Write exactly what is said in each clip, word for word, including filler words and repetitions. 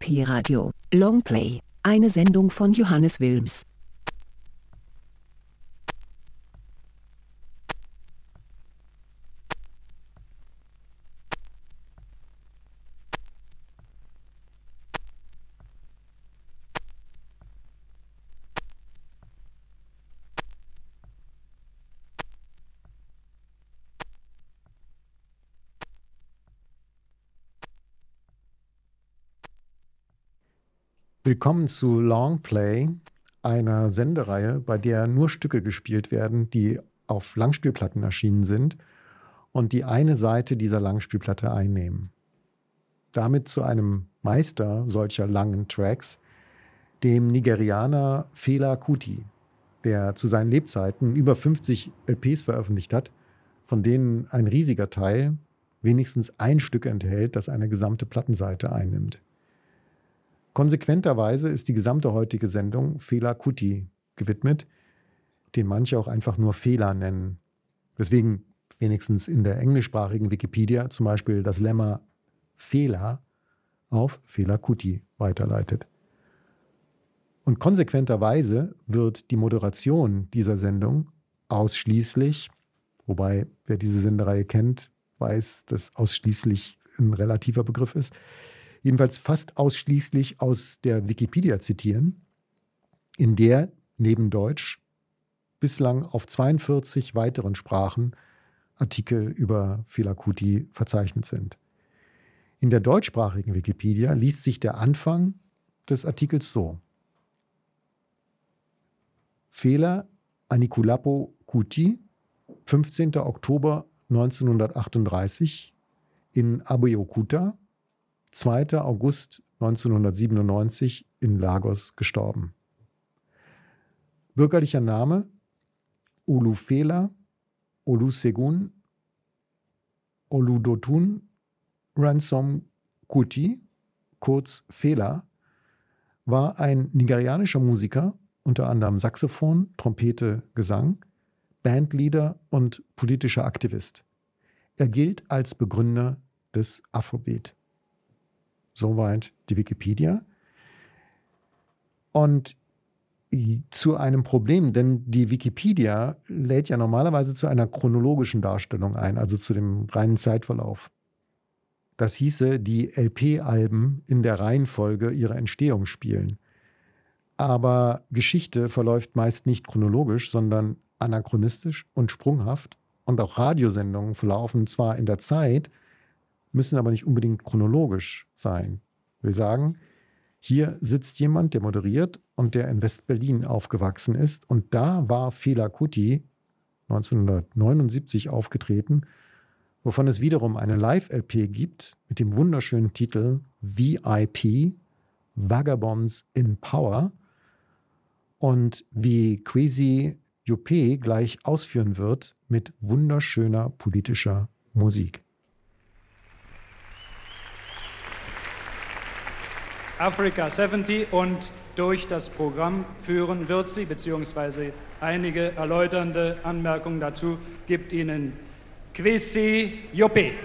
Pi-Radio, Longplay, eine Sendung von Johannes Wilms. Willkommen zu Longplay, einer Sendereihe, bei der nur Stücke gespielt werden, die auf Langspielplatten erschienen sind und die eine Seite dieser Langspielplatte einnehmen. Damit zu einem Meister solcher langen Tracks, dem Nigerianer Fela Kuti, der zu seinen Lebzeiten über fünfzig L Ps veröffentlicht hat, von denen ein riesiger Teil wenigstens ein Stück enthält, das eine gesamte Plattenseite einnimmt. Konsequenterweise ist die gesamte heutige Sendung Fela Kuti gewidmet, den manche auch einfach nur Fela nennen. Deswegen wenigstens in der englischsprachigen Wikipedia zum Beispiel das Lemma Fela auf Fela Kuti weiterleitet. Und konsequenterweise wird die Moderation dieser Sendung ausschließlich, wobei wer diese Sendereihe kennt, weiß, dass ausschließlich ein relativer Begriff ist, jedenfalls fast ausschließlich aus der Wikipedia zitieren, in der neben Deutsch bislang auf zweiundvierzig weiteren Sprachen Artikel über Fela Kuti verzeichnet sind. In der deutschsprachigen Wikipedia liest sich der Anfang des Artikels so: Fela Anikulapo Kuti, fünfzehnter Oktober neunzehnhundertachtunddreißig in Abeokuta, zweiter August neunzehnhundertsiebenundneunzig in Lagos gestorben. Bürgerlicher Name Olufela Olusegun Oludotun Ransom Kuti, kurz Fela, war ein nigerianischer Musiker, unter anderem Saxophon, Trompete, Gesang, Bandleader und politischer Aktivist. Er gilt als Begründer des Afrobeat. Soweit die Wikipedia. Und zu einem Problem, denn die Wikipedia lädt ja normalerweise zu einer chronologischen Darstellung ein, also zu dem reinen Zeitverlauf. Das hieße, die L P-Alben in der Reihenfolge ihrer Entstehung spielen. Aber Geschichte verläuft meist nicht chronologisch, sondern anachronistisch und sprunghaft. Und auch Radiosendungen verlaufen zwar in der Zeit, müssen aber nicht unbedingt chronologisch sein. Ich will sagen, hier sitzt jemand, der moderiert und der in West-Berlin aufgewachsen ist. Und da war Fela Kuti neunzehnhundertneunundsiebzig aufgetreten, wovon es wiederum eine Live-L P gibt mit dem wunderschönen Titel V I P, Vagabonds in Power. Und wie Kwesi Juppé gleich ausführen wird, mit wunderschöner politischer Musik. Africa siebzig und durch das Programm führen wird sie, beziehungsweise einige erläuternde Anmerkungen dazu gibt Ihnen Kwesi Juppé.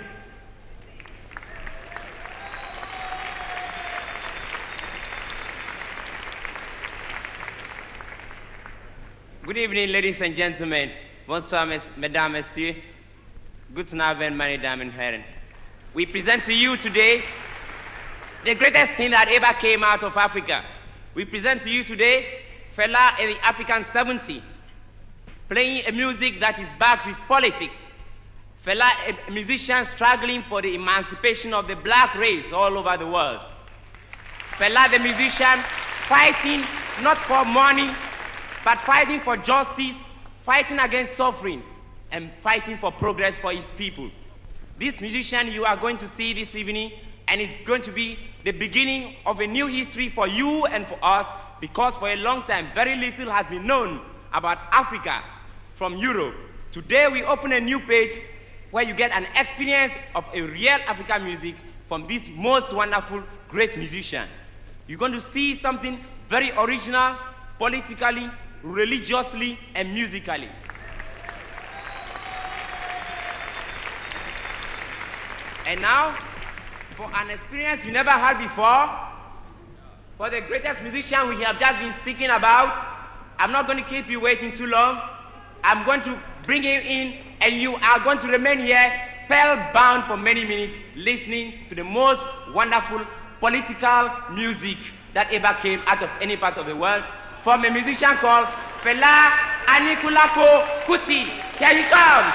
Good evening, ladies and gentlemen. Bonsoir, mesdames, messieurs. Guten Abend, meine Damen und Herren. We present to you today the greatest thing that ever came out of Africa. We present to you today Fela and the African seventy, playing a music that is backed with politics. Fela, a musician struggling for the emancipation of the black race all over the world. Fela, the musician, fighting not for money, but fighting for justice, fighting against suffering, and fighting for progress for his people. This musician you are going to see this evening, and it's going to be the beginning of a new history for you and for us, because for a long time, very little has been known about Africa from Europe. Today, we open a new page where you get an experience of a real African music from this most wonderful, great musician. You're going to see something very original, politically, religiously, and musically. And now, for an experience you never had before, for the greatest musician we have just been speaking about. I'm not going to keep you waiting too long. I'm going to bring him in, and you are going to remain here spellbound for many minutes listening to the most wonderful political music that ever came out of any part of the world from a musician called Fela Anikulapo Kuti. Here he comes.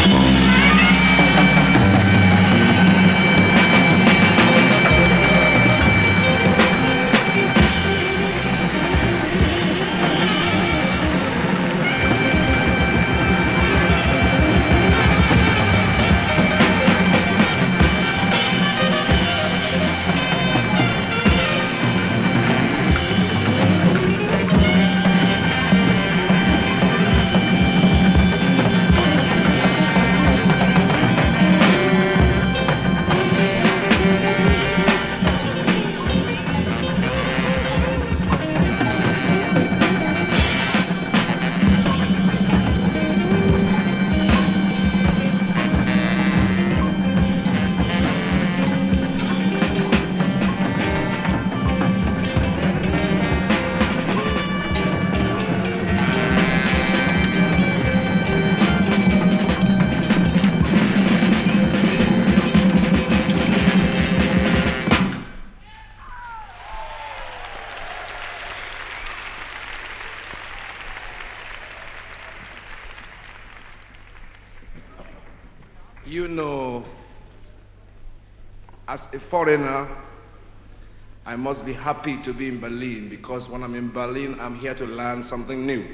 You know, as a foreigner, I must be happy to be in Berlin, because when I'm in Berlin, I'm here to learn something new.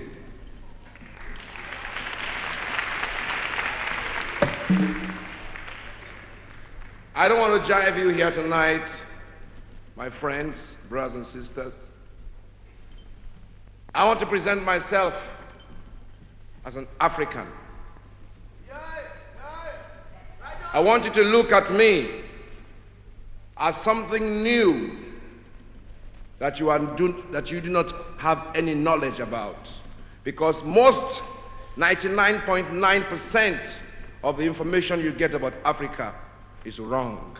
I don't want to jive you here tonight, my friends, brothers and sisters. I want to present myself as an African. I want you to look at me as something new that you, are do, that you do not have any knowledge about. Because most, ninety-nine point nine percent of the information you get about Africa is wrong.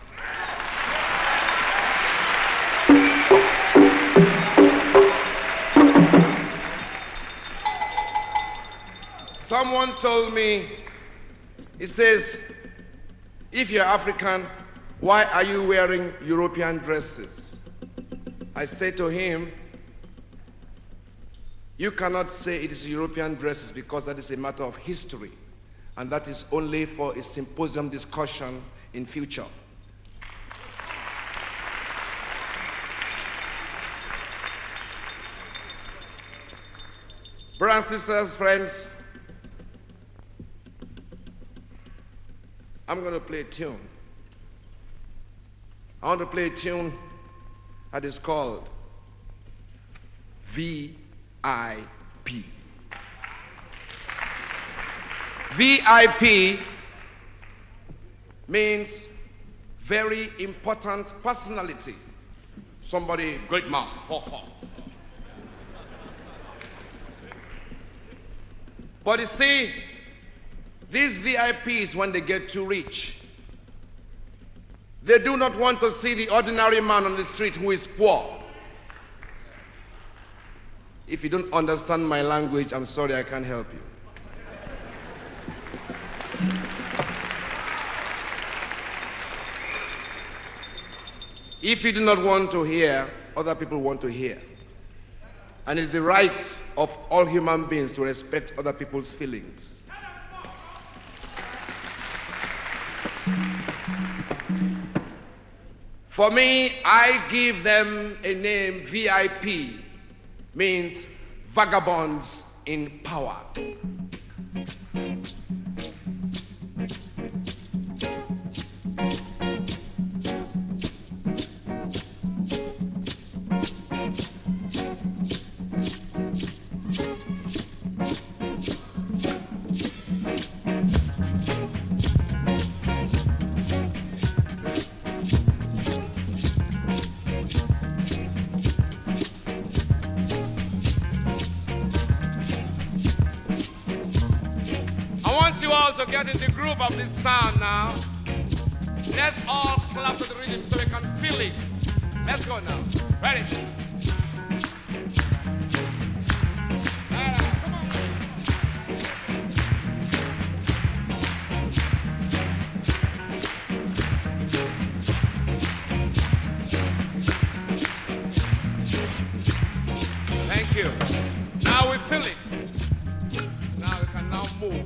Someone told me, he says, if you're African, why are you wearing European dresses? I say to him, you cannot say it is European dresses, because that is a matter of history, and that is only for a symposium discussion in future. Brothers and sisters, friends, I'm going to play a tune. I want to play a tune that is called V I P. V I P means very important personality. Somebody, great man. Ho, ho. But you see, these V I Ps, when they get too rich, they do not want to see the ordinary man on the street who is poor. If you don't understand my language, I'm sorry, I can't help you. If you do not want to hear, other people want to hear. And it's the right of all human beings to respect other people's feelings. For me, I give them a name. V I P means vagabonds in power. To get in the groove of this sound now, let's all clap to the rhythm so we can feel it. Let's go now. Ready? Thank you. Now we feel it. Now we can now move.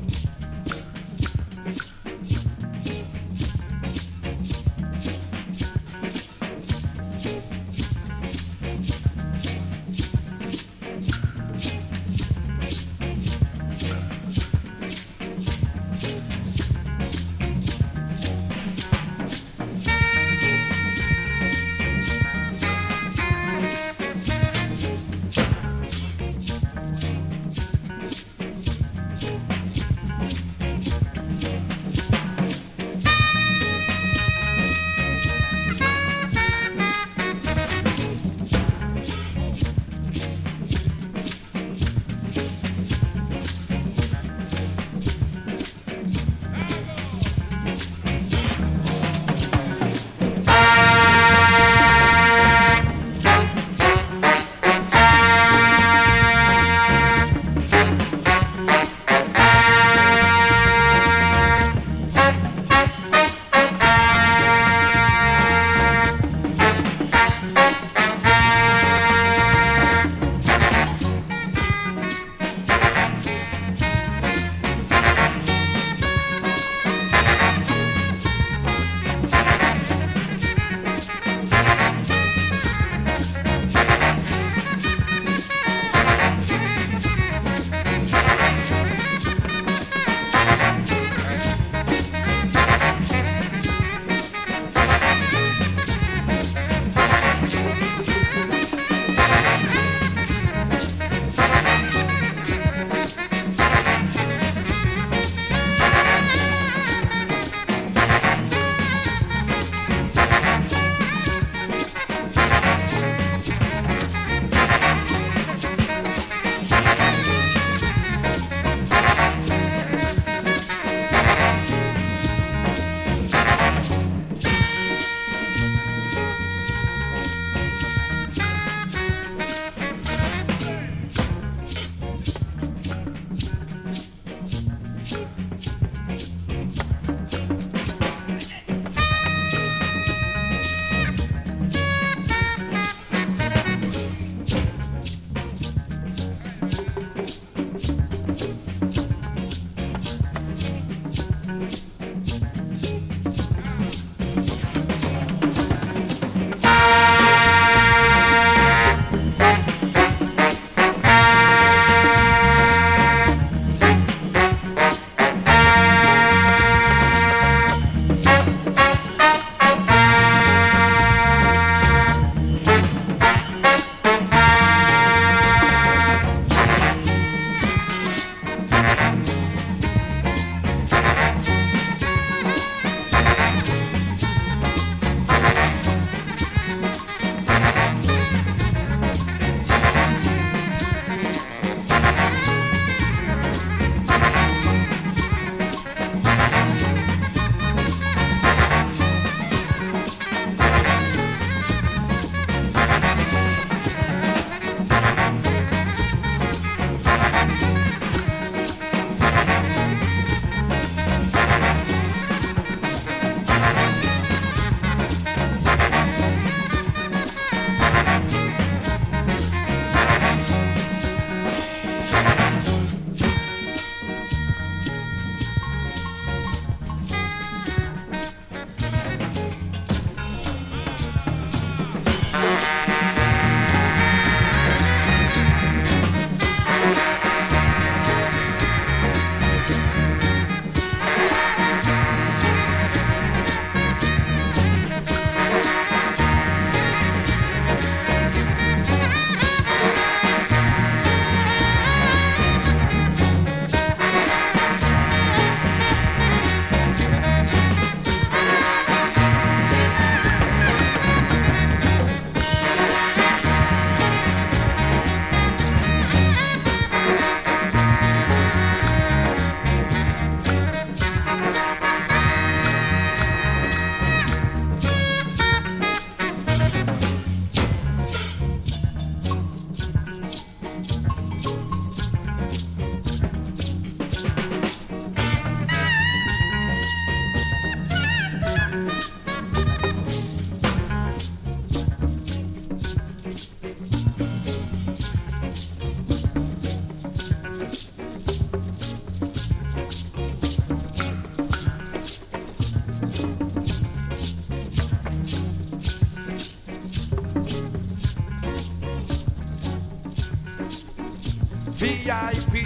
V I P.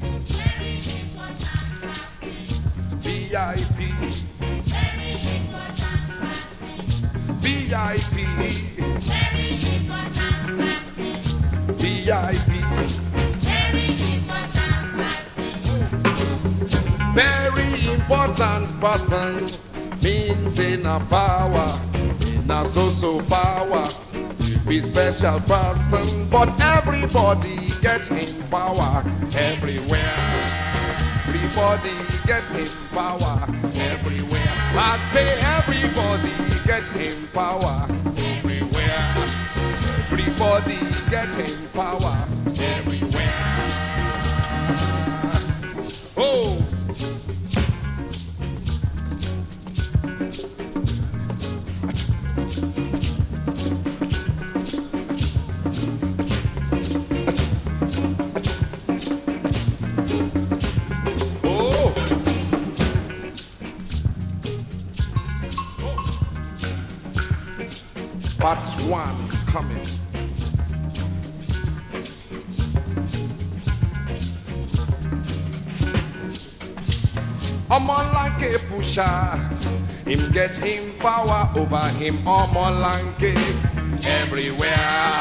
V I P. V I P. V I P. Very important person means in a power, in a so-so power. Be special person, but everybody get in power everywhere. Everybody get in power everywhere. I say everybody get in power everywhere. Everybody get in power everywhere. Oh. Part one coming. I'm on like a pusher. Him get him power over him. I'm on like a everywhere.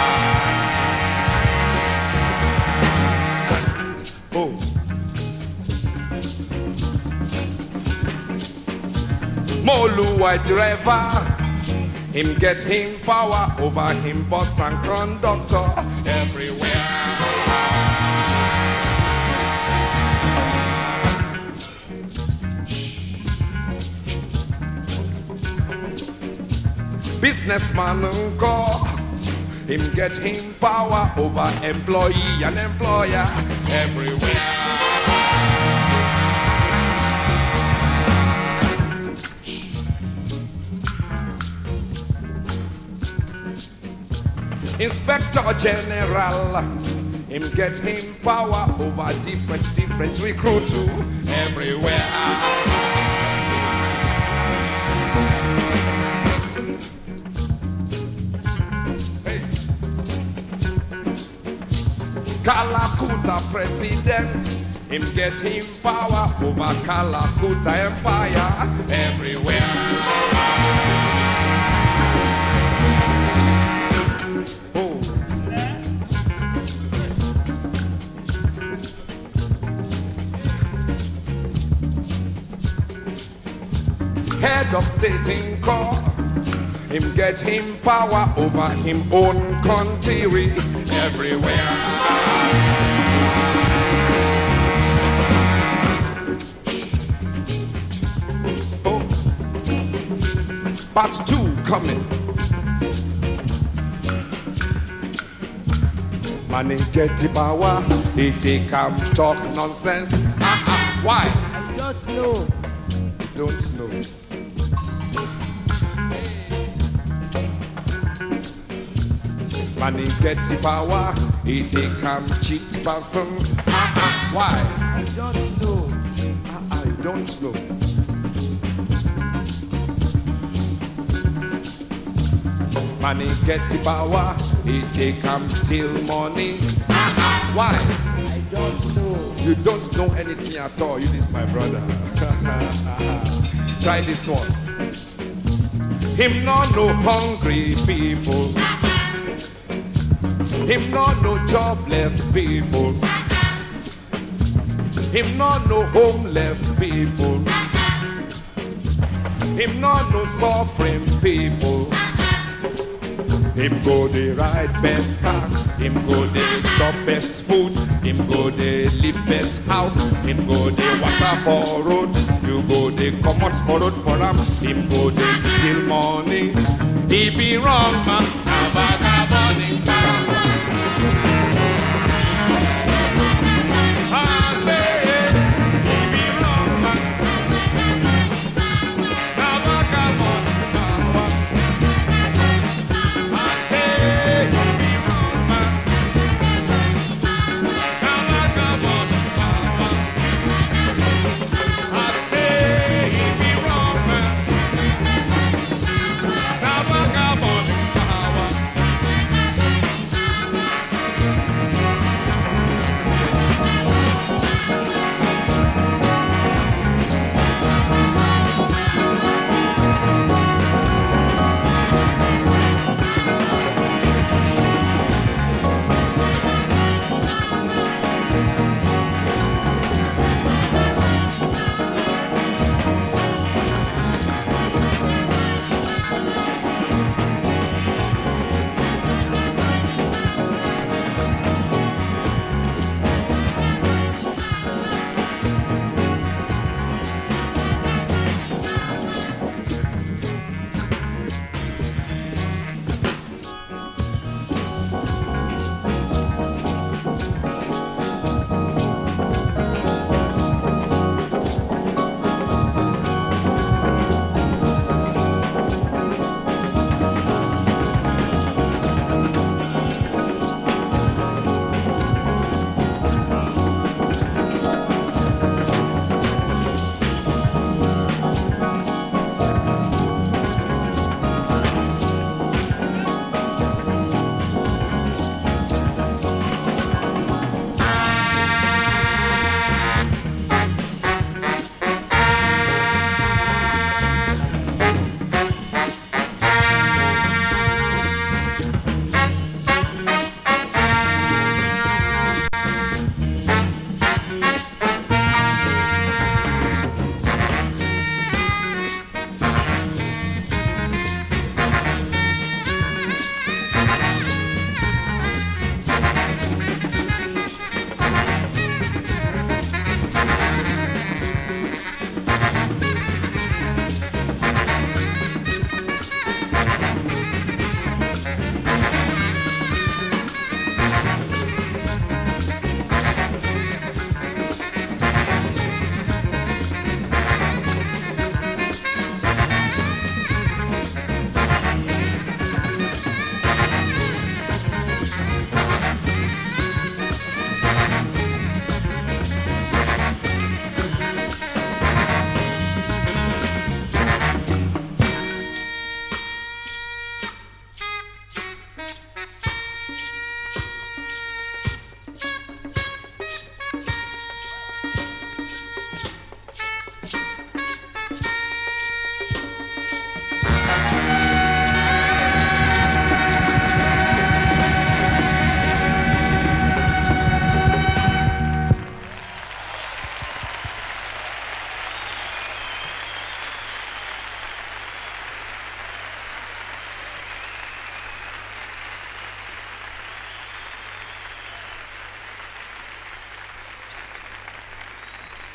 Oh. Molu white driver. Him get him power over him boss and conductor everywhere. Businessman uncle, him get him power over employee and employer everywhere. Inspector General, him get him power over different, different recruit too everywhere. Hey. Kalakuta President, him get him power over Kalakuta Empire everywhere. Head of state in court, him get him power over him own country everywhere. Oh, part two coming. Man, he get the power, he take him talk nonsense. Uh-uh. Why? I don't know. Don't know. Man, he get the power, he take him cheat person. Uh-uh. Why? I don't know. Uh-uh. I don't know. Man, he get the power, he take him steal money. Uh-uh. Why? I don't know. You don't know anything at all. You this my brother. Try this one. Him not no hungry people. Him not no jobless people. Him not no homeless people. Him not no suffering people. Him go the ride best car. Him go the chop best food. Him go the live best house. Him go the water for road. You go the commots for road for him. Him go the steal money. He be wrong man. Vagabonding town. I say he be wrong man. Vagabonding town. I say he be wrong man. Vagabonding town. I say he be wrong man. Vagabonding town.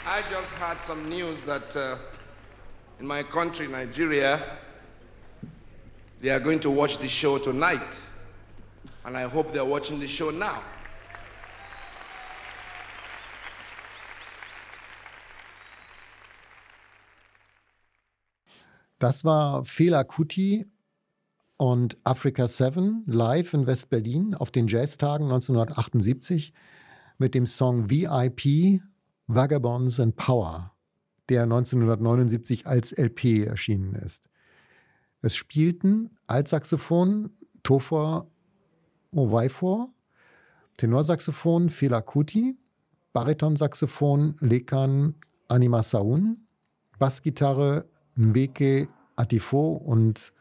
I just had some news that uh, in my country, Nigeria, they are going to watch the show tonight. And I hope they're watching the show now. Das war Fela Kuti und Africa Seven live in West-Berlin auf den Jazztagen neunzehnhundertachtundsiebzig mit dem Song V I P Vagabonds and Power, der neunzehnhundertneunundsiebzig als L P erschienen ist. Es spielten Altsaxophon Topher Mowaifor, Tenorsaxophon Fela Kuti, Baritonsaxophon Lekan Animasaun, Bassgitarre Nweke Atifo und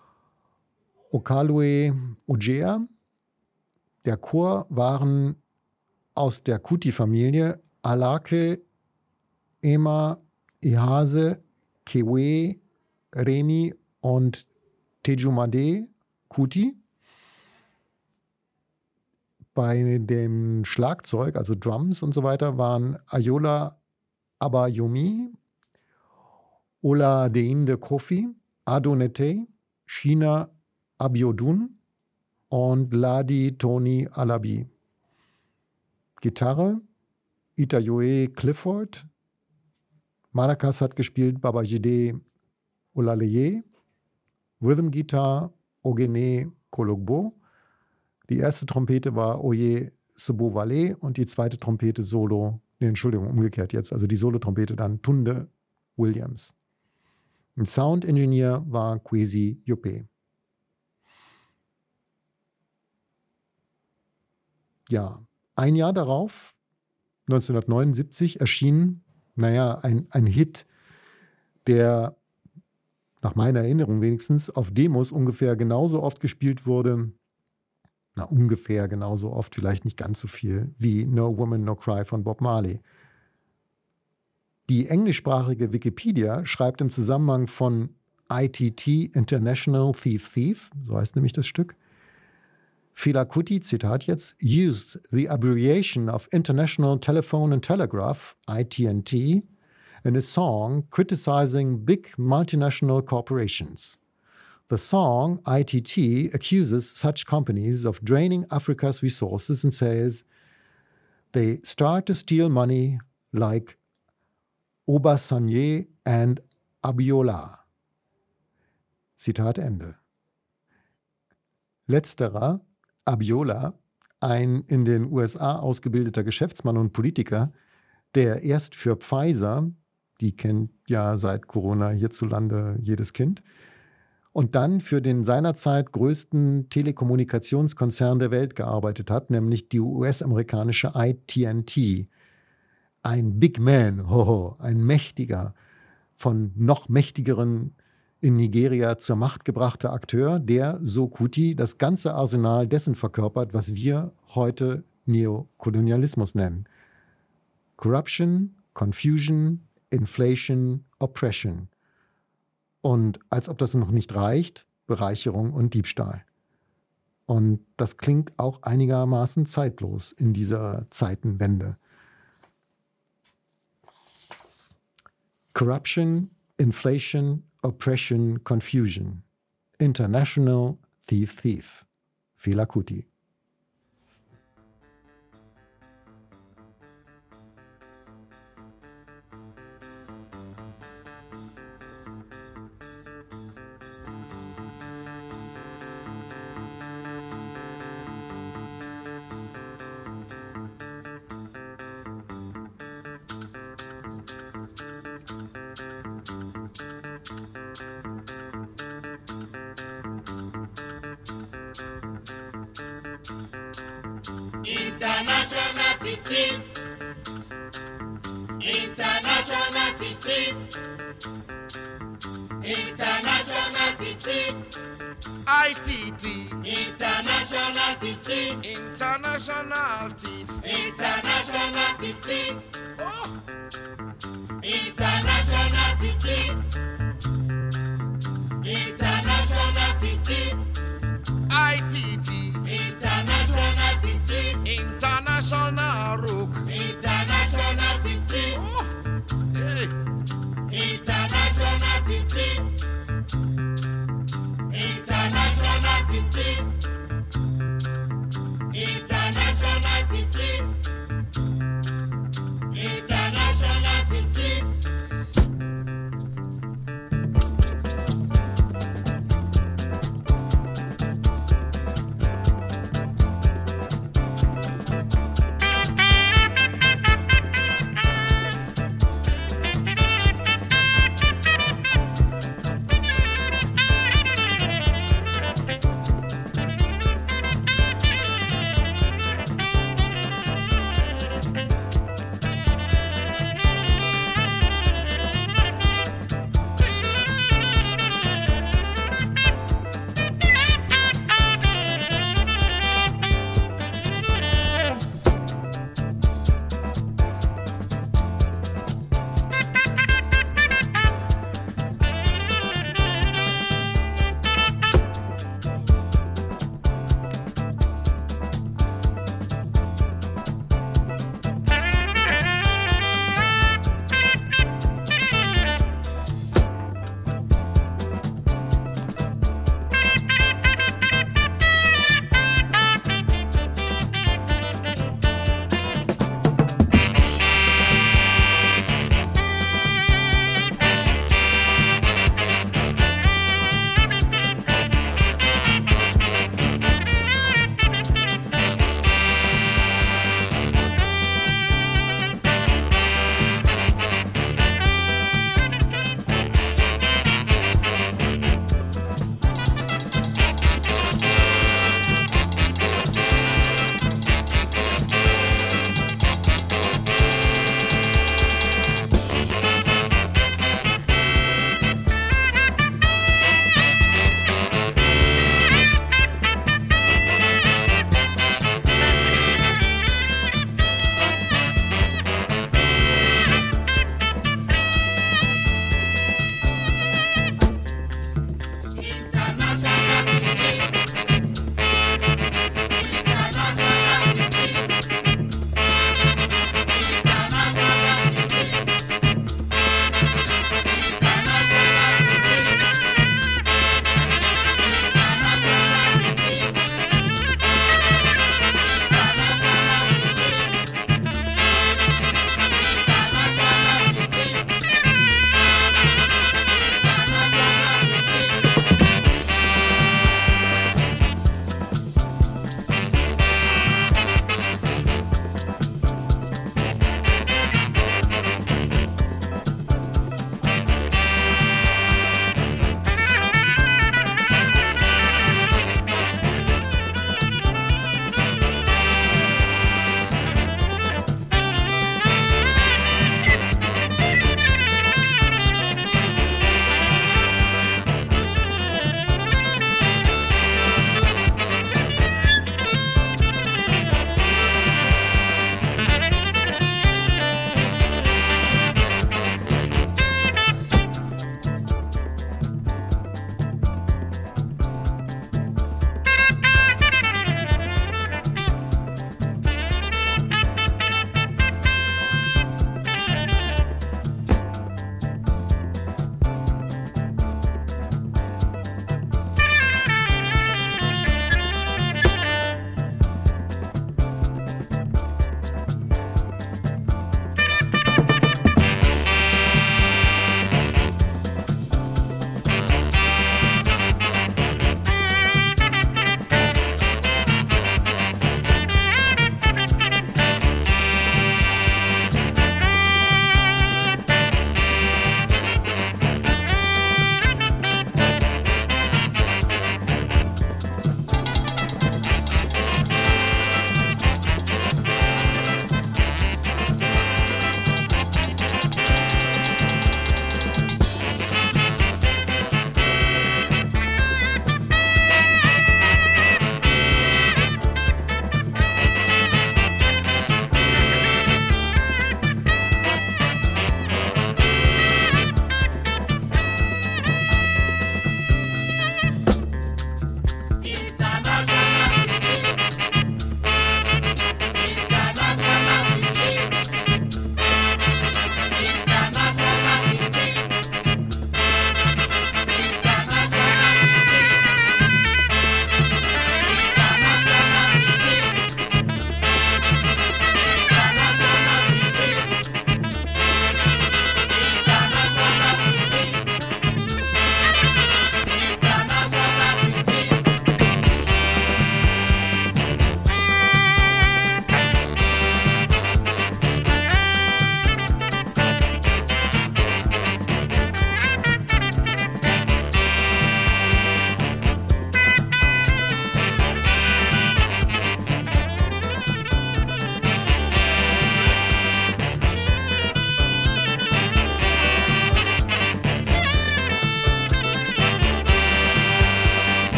Okalue Ojea. Der Chor waren aus der Kuti-Familie Alake, Ema, Ihase, Kewe, Remi und Tejumade Kuti. Bei dem Schlagzeug, also Drums und so weiter, waren Ayola Abayomi, Ola Deinde Kofi, Adonete, Shina Abiodun und Ladi Tony Alabi. Gitarre Itayoe Clifford. Maracas hat gespielt Babajide Olaleye. Rhythm Guitar Ogene Kologbo. Die erste Trompete war Oye Sobowale und die zweite Trompete Solo, nee, Entschuldigung, umgekehrt jetzt, also die Solo-Trompete dann Tunde Williams. Ein Sound-Engineer war Kwesi Jope. Ja, ein Jahr darauf, neunzehnhundertneunundsiebzig, erschien, naja, ein, ein Hit, der nach meiner Erinnerung wenigstens auf Demos ungefähr genauso oft gespielt wurde, na ungefähr genauso oft, vielleicht nicht ganz so viel, wie No Woman, No Cry von Bob Marley. Die englischsprachige Wikipedia schreibt im Zusammenhang von I T T, International Thief Thief, so heißt nämlich das Stück, Fela Kuti, Zitat jetzt, used the abbreviation of International Telephone and Telegraph, I T N T, in a song criticizing big multinational corporations. The song I T T accuses such companies of draining Africa's resources and says they start to steal money like Obasanjo and Abiola. Zitat Ende. Letzterer, Abiola, ein in den U S A ausgebildeter Geschäftsmann und Politiker, der erst für Pfizer, die kennt ja seit Corona hierzulande jedes Kind, und dann für den seinerzeit größten Telekommunikationskonzern der Welt gearbeitet hat, nämlich die U S-amerikanische I T N T. Ein Big Man, hoho, ein mächtiger, von noch mächtigeren in Nigeria zur Macht gebrachter Akteur, der, so Kuti, das ganze Arsenal dessen verkörpert, was wir heute Neokolonialismus nennen. Corruption, Confusion, Inflation, Oppression. Und als ob das noch nicht reicht, Bereicherung und Diebstahl. Und das klingt auch einigermaßen zeitlos in dieser Zeitenwende. Corruption, Inflation, Oppression, Confusion. International Thief Thief. Fela Kuti. International thief, international thief, international thief, I T T, international thief, international thief, international thief, oh, international thief, international thief, I T T, international thief, international rook, international thief, oh,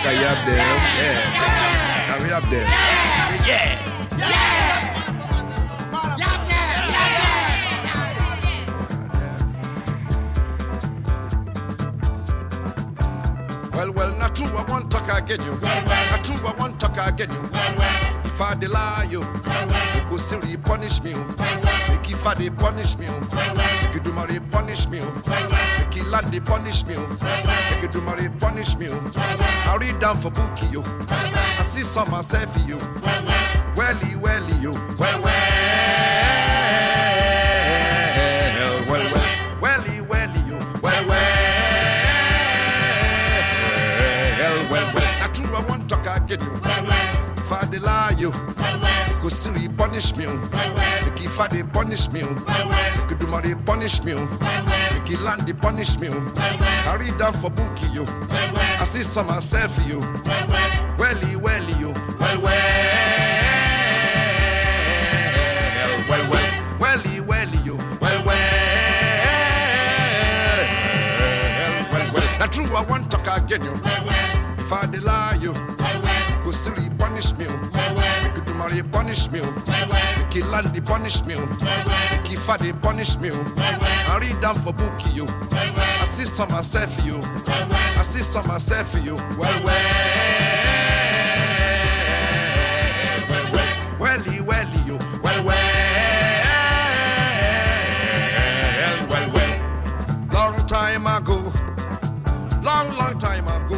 are you up there? Yeah. Are we up there? Say yeah. Well, well, not true, I want talk again you. Well, well. Not true, I want talk again you. Well, well. If I lie you, well, well. You go silly punish me. Well, well. Make if I they punish me. Well, well. Make you do my punish me. Well, well. Make you land they punish me. Well, well. Make you do my punish me. Well, well. I read down for bookie you. Well, well. I see some myself you. Well, well. Welly, welly you. Well, well. Well, well. Welly, welly you. Well, well. I want talk again you. Well, well. If I dey lie you, well, well. Go silly punish me. Well, well. Make if I dey punish me. Well, well. Make you do my punish me. Well, well. Make you land the punish me. Well, well. I read down for bookie you. Well, well. I see some myself you. Well, well. Welly, welly you. Well, well. Well, well. Welly, welly you. Well, well. Well, well. Now true I want talk again you. Well, well. If I dey lie you, well, well. Go silly punish me. Well, well. Make you do my punish me. Well, well. Make you land the punish me. Well, well. Make if I dey punish me. Well, well. I read down for bookie you. Well, well. I see some myself for you. Well, well. I see some myself for you. Well, well. Well, well. Welly, welly you. Well, well. Well, well. Long time ago. Long, long time ago.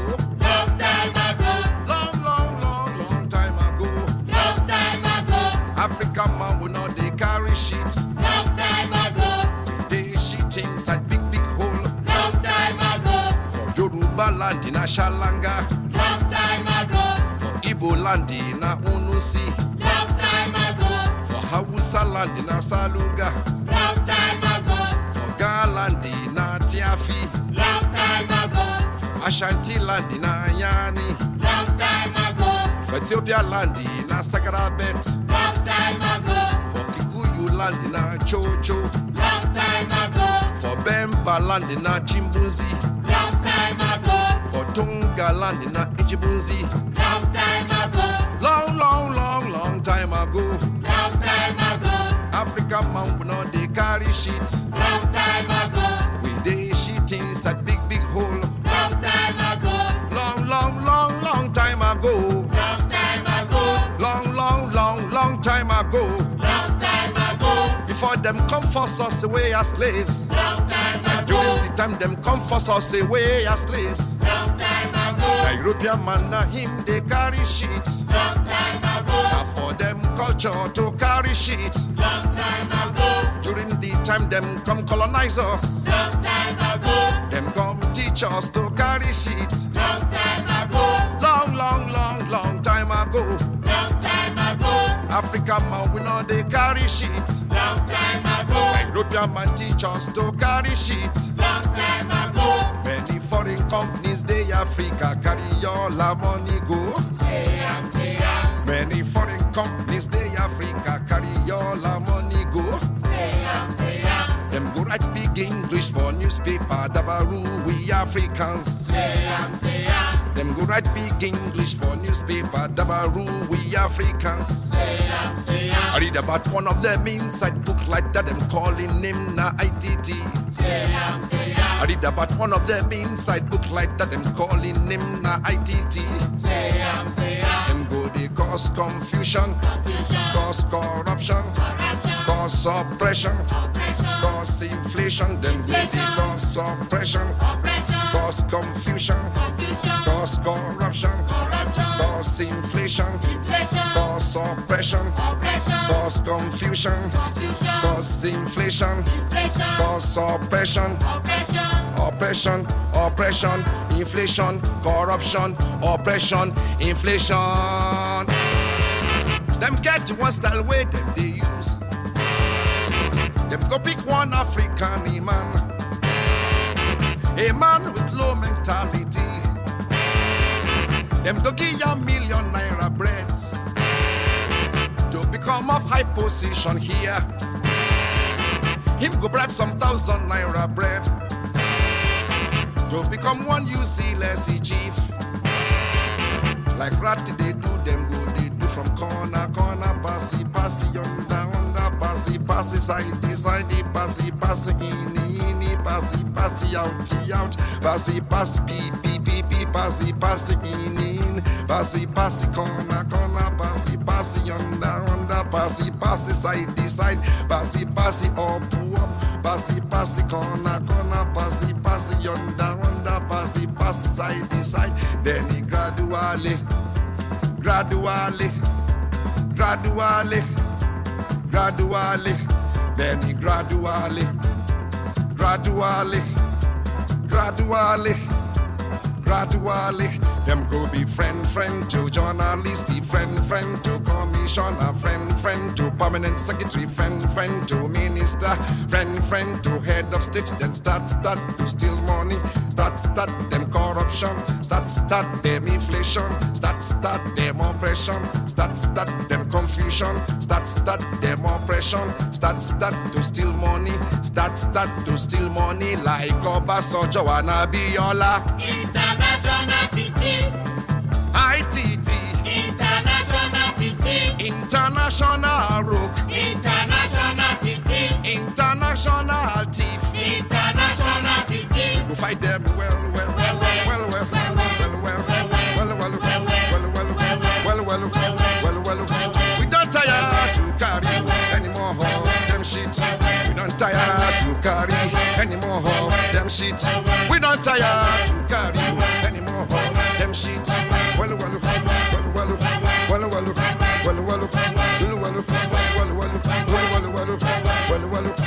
African man will not they carry sheets. Long time ago. They shit inside big big hole. Long time ago. For Yoruba land in Ashalanga. Long time ago. For Igbo land in Unusi. Long time ago. For Hausa land in Asaluga. Long time ago. For Ga land in Tiafi. Long time ago. For Ashanti land in Ayani. Long time ago. For Ethiopia land in Sagrabet. Long time ago. For Kikuyu land in Chocho. Long time ago. For Bemba land in Chimbuzi. Long time ago. For Tonga land in Ichibunzi. Long time ago. Long, long, long, long time ago. Long time ago. African man will not they carry shit. Long time ago. We they shit inside big, big hole. Long time ago. Long, long, long, long time ago. Long time ago. Long, long, long, long time ago. Long time ago. Before them come force us away as slaves. Long time ago. During the time them come force us away as slaves. Long time ago. The European man na him they carry shit. Long time ago. Now for them culture to carry shit. Long time ago. During the time them come colonize us. Long time ago. Them come teach us to carry shit. Long time ago. Long, long, long, long time ago. Long time ago. African man we know they carry shit. Long time ago. European man teach us to carry shit. Long time ago. Many foreign companies they Africa carry all our money go. Say am, say am. Many foreign companies they Africa carry all our money go. Say am, say am. Them go write big English for newspaper Dabaru we Africans. Say am, say am. Them go write big English for newspaper Dabaru we Africans. Say am, say am. I read about one of them inside book like that them calling him na I T T. Say am, say I am. read about one of them inside book like that them calling him na I T T. Say am, say am. Them go they cause confusion, Confusion. cause corruption, Corruption. cause oppression, Oppression. cause inflation. Them go they cause oppression, Oppression. cause confusion, Confusion. cause corruption, Corruption. cause inflation, Inflation. cause oppression, Oppression. cause confusion, Confusion. cause inflation, Inflation. cause oppression, Oppression. oppression, oppression, inflation, corruption, oppression, inflation. Them get one style way them they use. Them go pick one African man, a man with low mentality. Them go give ya million naira breads to become of high position here. Him go bribe some thousand naira bread to become one useless chief. Like ratty they do them go, they do from corner, corner, passy, passy, yonder, under, passy, passy, side, side, passy, passy, in, in, passy, passy, out, out, passy, passy, pee, pee, pee, pee, passy, passy, in, in, passy, passy, corner, corner, passy, passy, yonder, under, passy, passy, side, side, passy, passy, up, up, passy, passy, corner, corner, passy, passy, yonder, under, passy, passy, side, side, then he gradually, gradually, gradually, gradually, then he gradually, gradually, gradually, gradually, them go be friend, friend to journalist, friend, friend to commissioner, friend, friend to permanent secretary, friend, friend to minister, friend, friend to head of state, then start, start to steal money, start, start them corruption, start, start them inflation, start, start them oppression, start, start them confusion, start, start them oppression, start, start to steal money, start, start to steal money like Obasanjo and Abiola. International T T. I T T. International T T. International Rook. International T T. International Thief. International T T. We fight them well, well, well, well, well, well, well, well, well, well, well, well, well, well, well. We don't tire to carry any more of them shit. We don't tire to carry any more of them shit. We don't tire to carry any more of them shit. Well, well, well, well, well, well, well, well, well, well, well, well, well,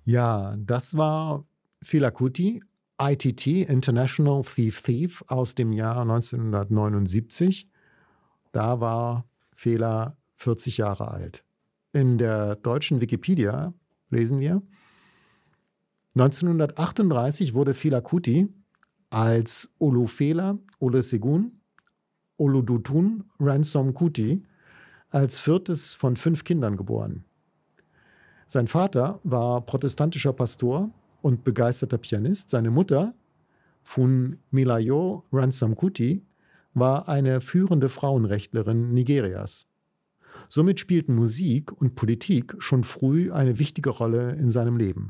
Ja, das war Fela Kuti, I T T, International Thief Thief, aus dem Jahr neunzehnhundertneunundsiebzig. Da war Fela vierzig Jahre alt. In der deutschen Wikipedia lesen wir: neunzehnhundertachtunddreißig wurde Fela Kuti als Olufela Olusegun Oludotun Ransom Kuti als viertes von fünf Kindern geboren. Sein Vater war protestantischer Pastor und begeisterter Pianist. Seine Mutter, Funmilayo Ransom Kuti, war eine führende Frauenrechtlerin Nigerias. Somit spielten Musik und Politik schon früh eine wichtige Rolle in seinem Leben.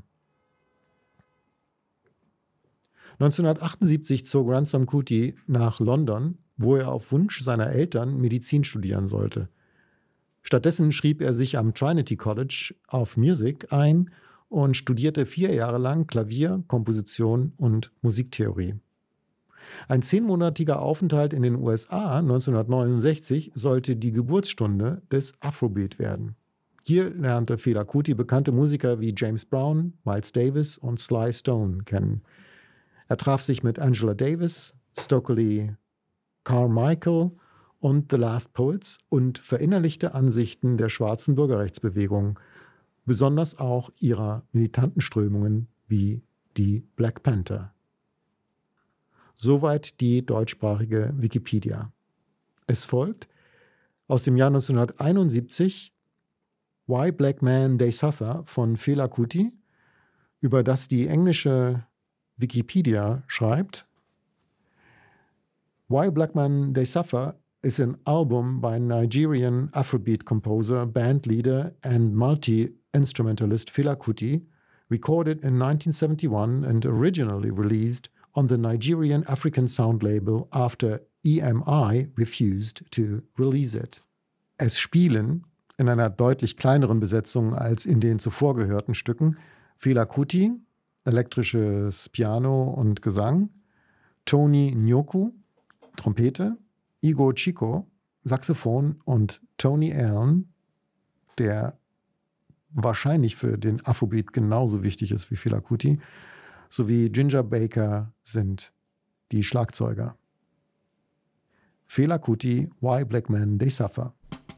neunzehnhundertachtundsiebzig zog Ransom Kuti nach London, wo er auf Wunsch seiner Eltern Medizin studieren sollte. Stattdessen schrieb er sich am Trinity College of Music ein und studierte vier Jahre lang Klavier, Komposition und Musiktheorie. Ein zehnmonatiger Aufenthalt in den U S A neunzehnhundertneunundsechzig sollte die Geburtsstunde des Afrobeat werden. Hier lernte Fela Kuti bekannte Musiker wie James Brown, Miles Davis und Sly Stone kennen. Er traf sich mit Angela Davis, Stokely Carmichael und The Last Poets und verinnerlichte Ansichten der schwarzen Bürgerrechtsbewegung, besonders auch ihrer militanten Strömungen wie die Black Panther. Soweit die deutschsprachige Wikipedia. Es folgt aus dem Jahr neunzehnhunderteinundsiebzig Why Black Men They Suffer von Fela Kuti, über das die englische Wikipedia schreibt: Why Black Men They Suffer is an album by Nigerian Afrobeat composer, bandleader and multi-instrumentalist Fela Kuti, recorded in nineteen seventy-one and originally released on the Nigerian African Sound label after E M I refused to release it. Es spielen, in einer deutlich kleineren Besetzung als in den zuvor gehörten Stücken, Fela Kuti, elektrisches Piano und Gesang, Tony Nyoku, Trompete, Igor Chico, Saxophon und Tony Allen, der wahrscheinlich für den Afrobeat genauso wichtig ist wie Fela Kuti, sowie Ginger Baker sind die Schlagzeuger. Fela Kuti, Why Black Men They Suffer.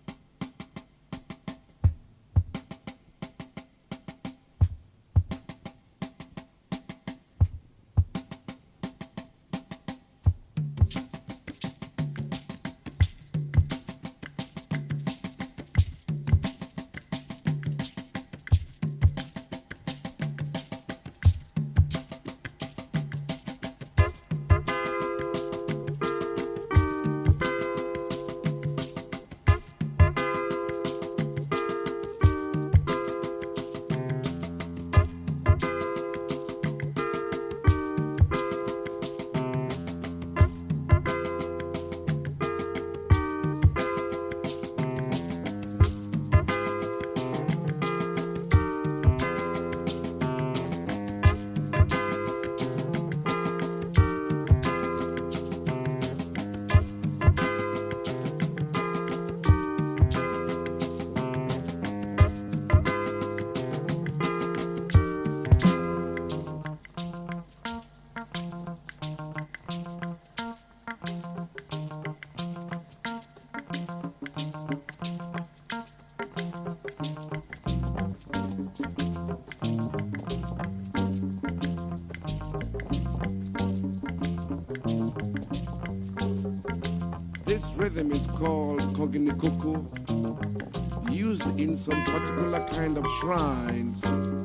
This rhythm is called Koginikuku, used in some particular kind of shrines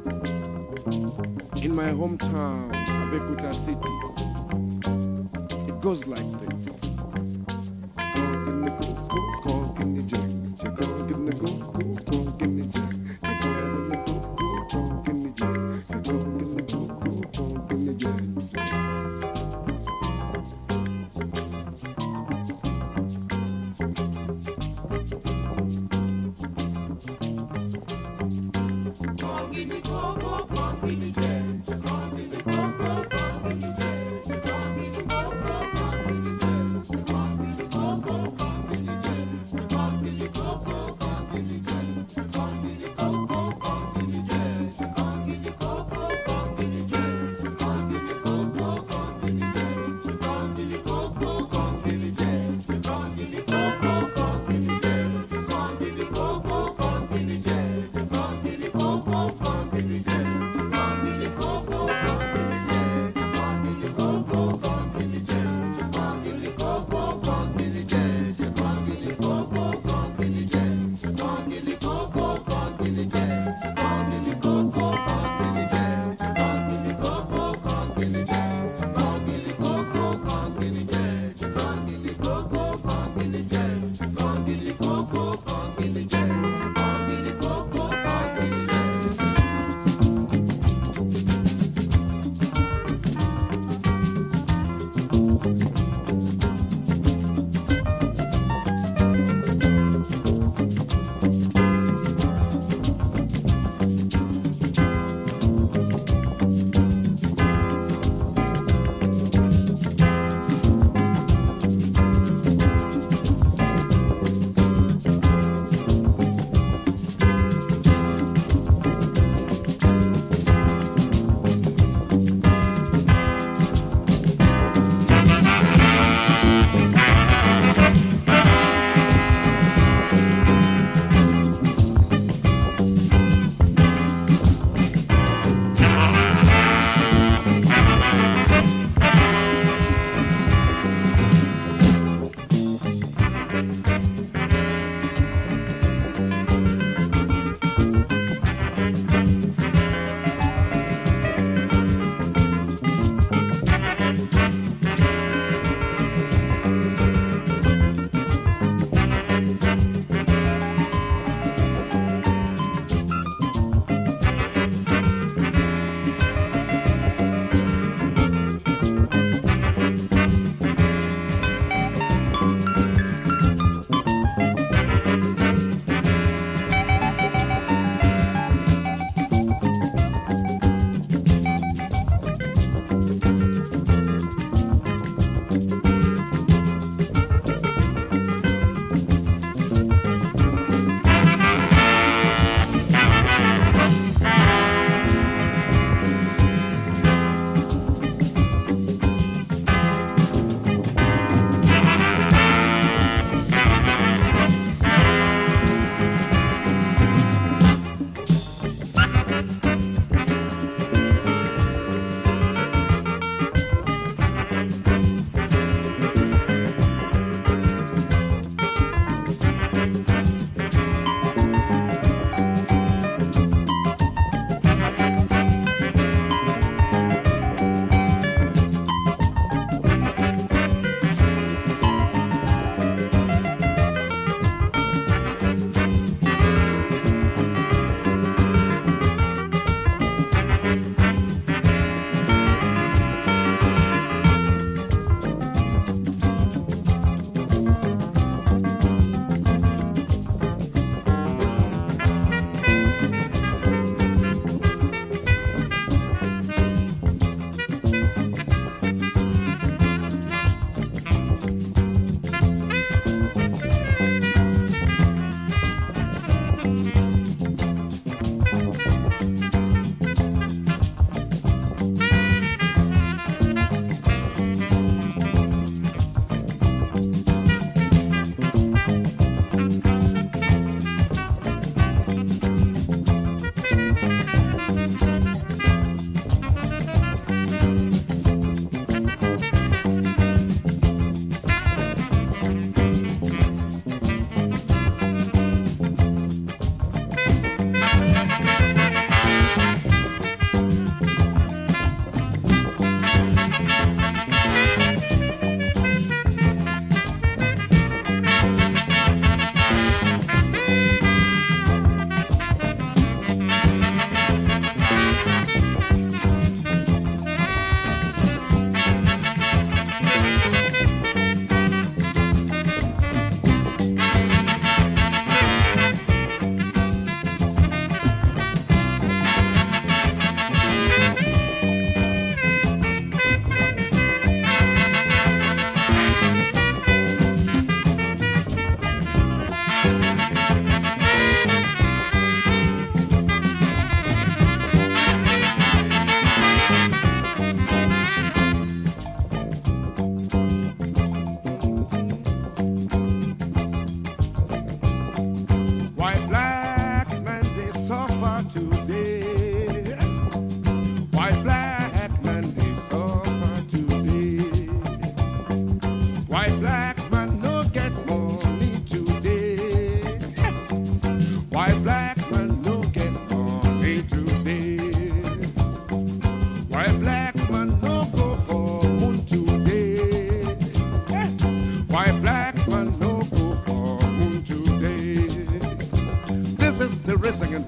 in my hometown, Abeokuta City. It goes like this. Koginikuku, Koginijek, Koginikuku, Koginijek, Koginikuku, Koginijek, Koginikuku, Koginijek. Come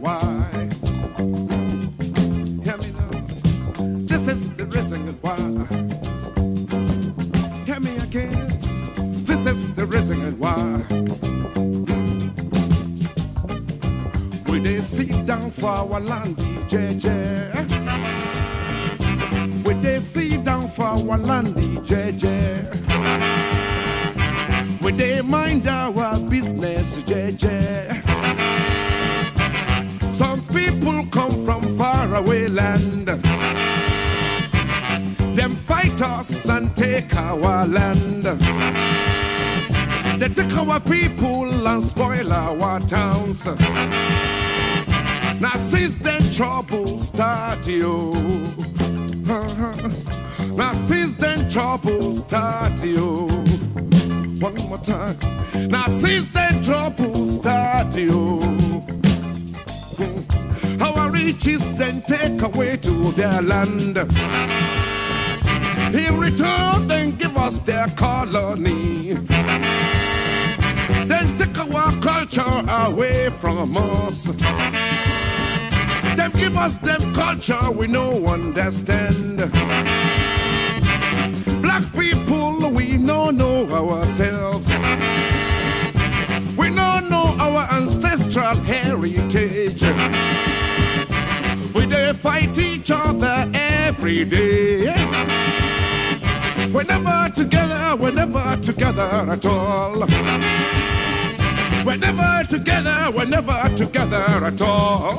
why. Hear me now. This is the reason why. Hear me again. This is the reason why. We they sit down for our land, J J. We they sit down for our land, J J. We they mind our business, J J. Some people come from far away land. Them fight us and take our land. They take our people and spoil our towns. Now since then trouble start, yo. Now since then trouble start, yo. One more time. Now since then trouble start, yo. Our riches then take away to their land. In return, then give us their colony. Then take our culture away from us. Then give us them culture we no understand. Black people, we no know ourselves. We no know our ancestral heritage. We they fight each other every day. We're never together, we're never together at all. We're never together, we're never together at all.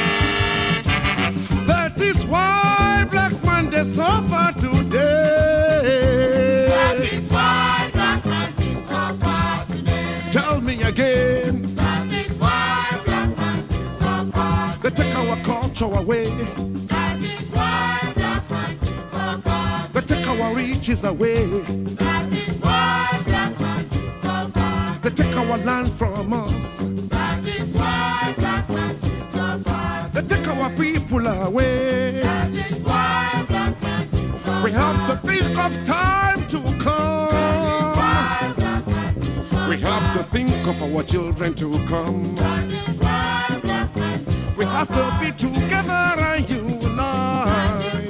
That is why black man they suffer today. That is why black man they suffer today. Tell me again. That is why black man they suffer They take our culture away. That is why black man they suffer They take our riches away. That is why black man they suffer They take our land from us. That is why black man they suffer They take our people away. That is why black man they suffer. We have to think of time to come. Why black man they suffer. We have to think of our children to come. That is why black man they suffer. We have to be together and unite.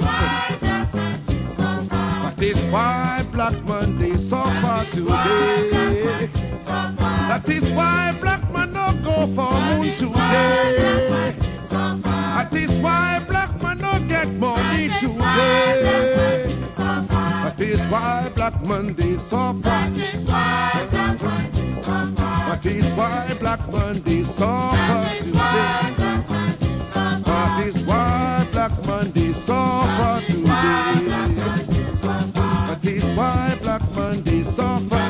That is why black man they suffer today. That is why black man don't go for moon today. That is why black man don't get money today. That is why black man they suffer. That is why black man they suffer. That is why black man they suffer today. That is why black man they suffer today. That is why black man they suffer.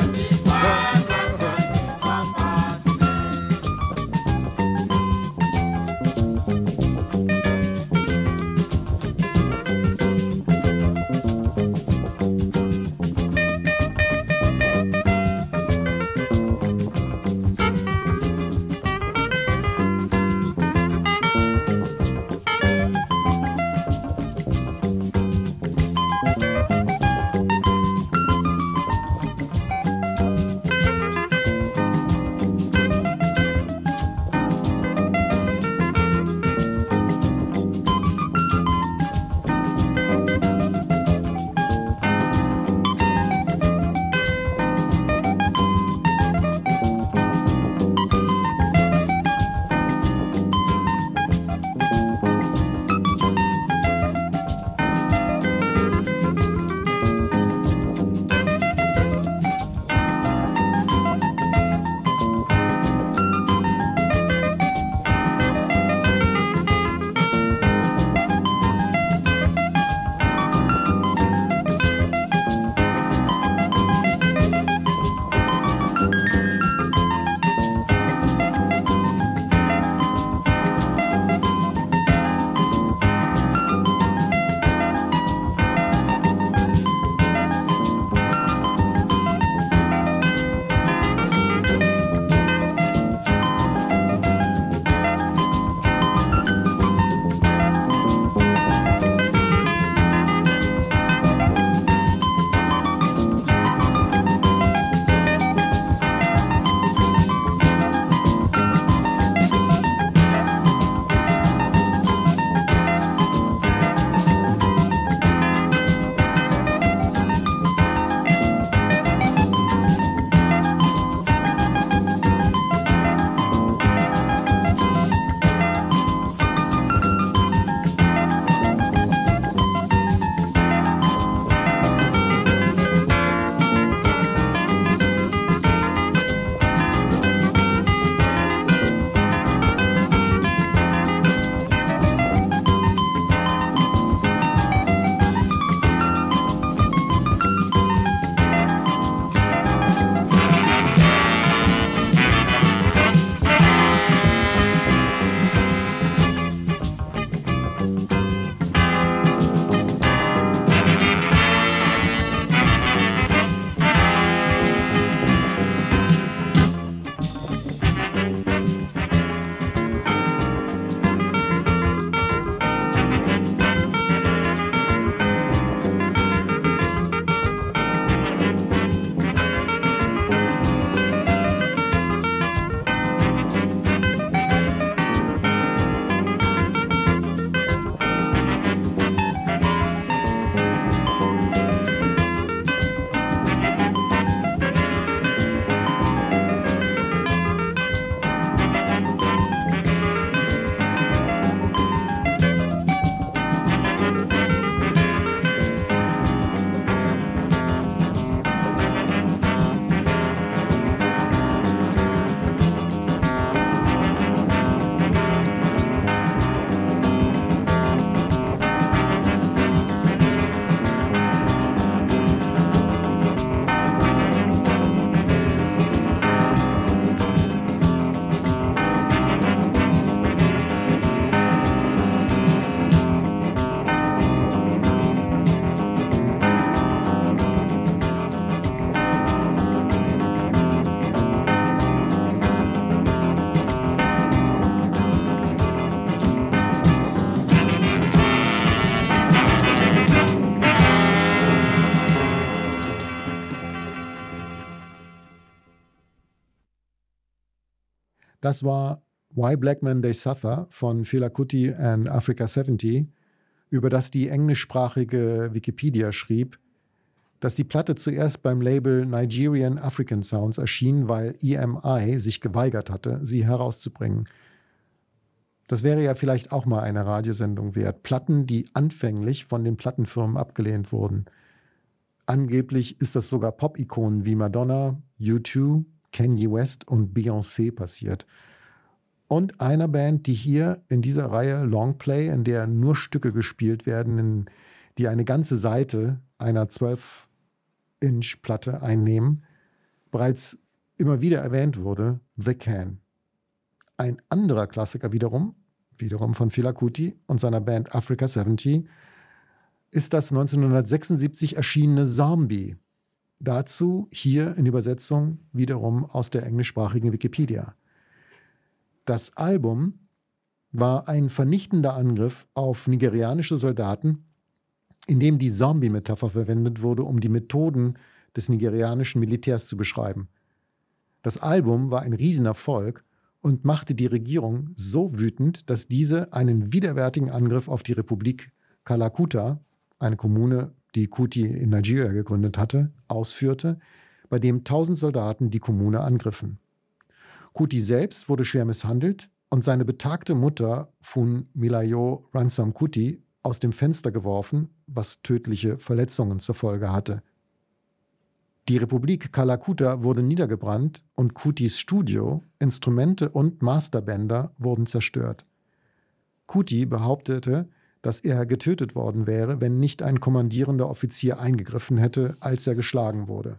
Das war Why Black Men They Suffer von Fela Kuti and Africa siebzig, über das die englischsprachige Wikipedia schrieb, dass die Platte zuerst beim Label Nigerian African Sounds erschien, weil E M I sich geweigert hatte, sie herauszubringen. Das wäre ja vielleicht auch mal eine Radiosendung wert. Platten, die anfänglich von den Plattenfirmen abgelehnt wurden. Angeblich ist das sogar Pop-Ikonen wie Madonna, U zwei, Kanye West und Beyoncé passiert. Und einer Band, die hier in dieser Reihe Longplay, in der nur Stücke gespielt werden, in, die eine ganze Seite einer zwölf Inch Platte einnehmen, bereits immer wieder erwähnt wurde, The Can. Ein anderer Klassiker wiederum, wiederum von Fela Kuti und seiner Band Africa siebzig, ist das neunzehnhundertsechsundsiebzig erschienene Zombie. Dazu hier in Übersetzung wiederum aus der englischsprachigen Wikipedia. Das Album war ein vernichtender Angriff auf nigerianische Soldaten, in dem die Zombie-Metapher verwendet wurde, um die Methoden des nigerianischen Militärs zu beschreiben. Das Album war ein Riesenerfolg und machte die Regierung so wütend, dass diese einen widerwärtigen Angriff auf die Republik Kalakuta, eine Kommune, die Kuti in Nigeria gegründet hatte, ausführte, bei dem tausend Soldaten die Kommune angriffen. Kuti selbst wurde schwer misshandelt und seine betagte Mutter Funmilayo Ransome Kuti aus dem Fenster geworfen, was tödliche Verletzungen zur Folge hatte. Die Republik Kalakuta wurde niedergebrannt und Kutis Studio, Instrumente und Masterbänder wurden zerstört. Kuti behauptete, dass er getötet worden wäre, wenn nicht ein kommandierender Offizier eingegriffen hätte, als er geschlagen wurde.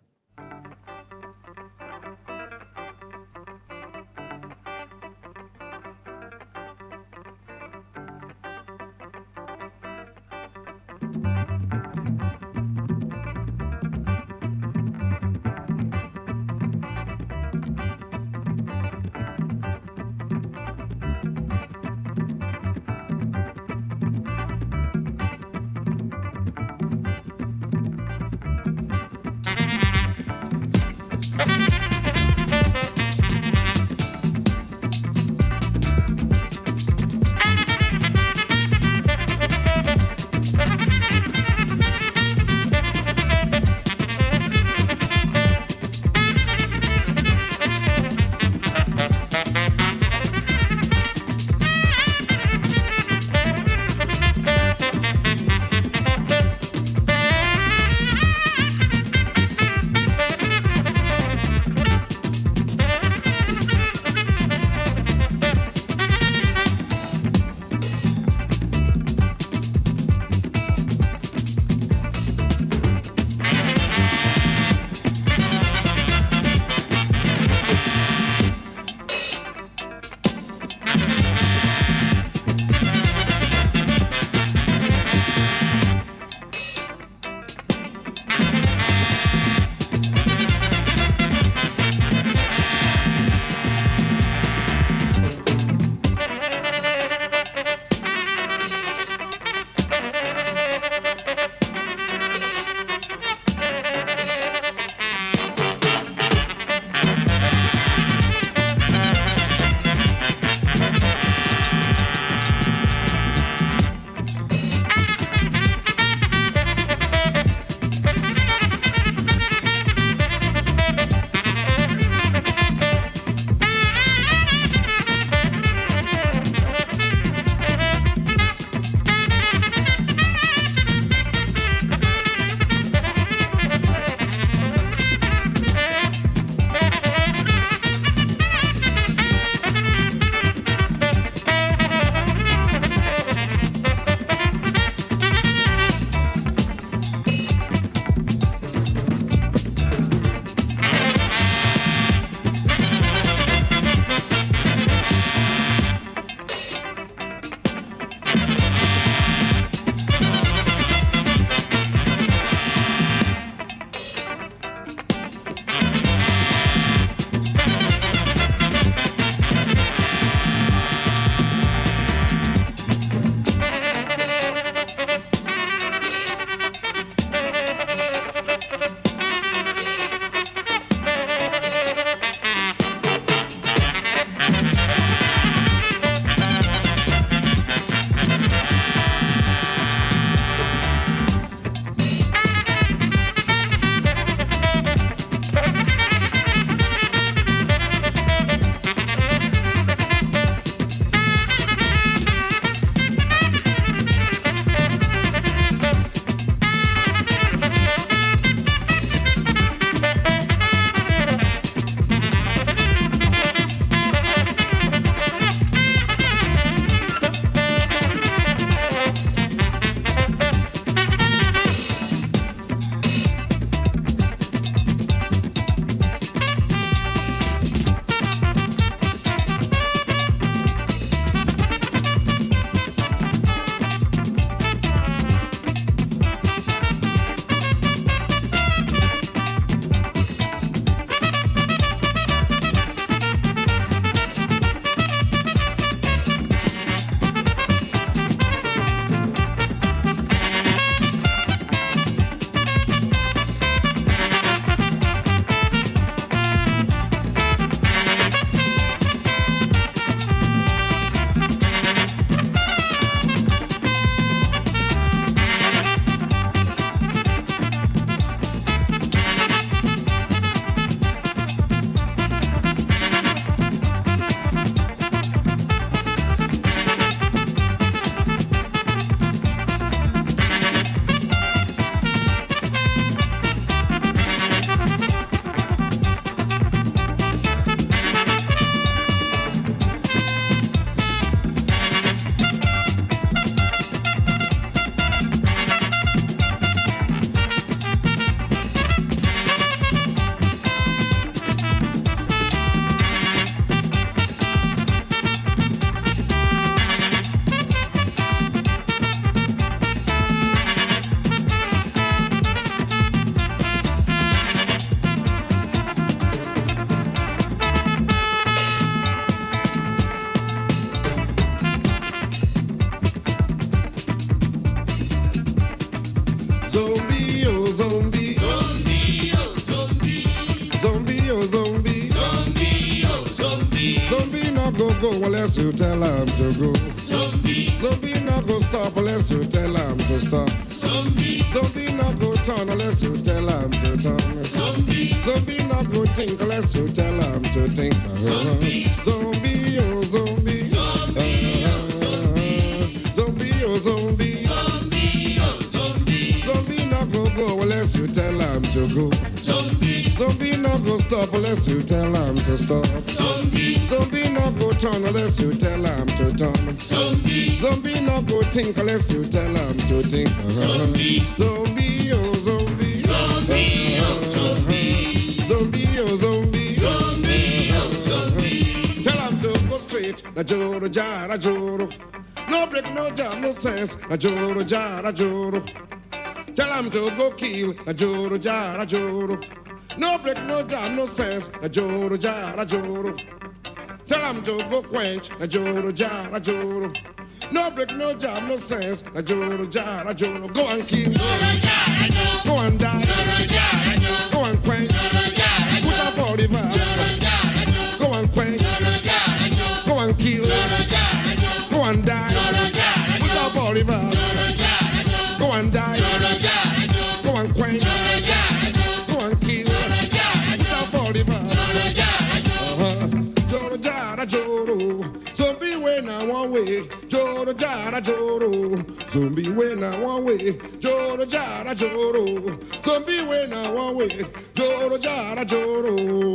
oh zombie. Zombie, oh zombie. Zombie no go go unless you tell him to go. Zombie, Zombie no go stop unless you tell him to stop. zombie, Zombie no go turn unless you tell him to turn. zombie, Zombie no go think unless you tell him to think. Zombie. Zombie, oh zombie. Zombie, Uh, Zombie, oh zombie. zombie, oh zombie. Zombie no go go unless you tell him to go. Zombie, Zombie no go stop unless you tell him to stop. zombie, Zombie no go turn unless you tell him to turn. zombie, Zombie no go think unless you tell him to think. Zombie. Zombie, oh zombie. zombie, oh zombie. Zombie, oh zombie. Zombie, oh zombie. Tell him to go straight. Na joro jara joro. No break, no jam, no sense. Na joro jara joro. Tell him to go kill. Na joro jara joro. No break, no jam, no sense. Na joro jara joro. Tell him to go quench. Na joro jara joro. No break, no jam, no sense. Na joro jara joro. Go and kill. Go and die. Go and quench. Put up all the verse. Go and quench. Go and kill. Go and die. Put up all the verse. Go and die. Go and quench. Go and kill. Put up all the verse. Uh-huh. Joro jara joro. Zombie way now one way. Joro jara joro. Zombie way now one way. Joro jara joro. Zombie way now one way. Joro jara joro.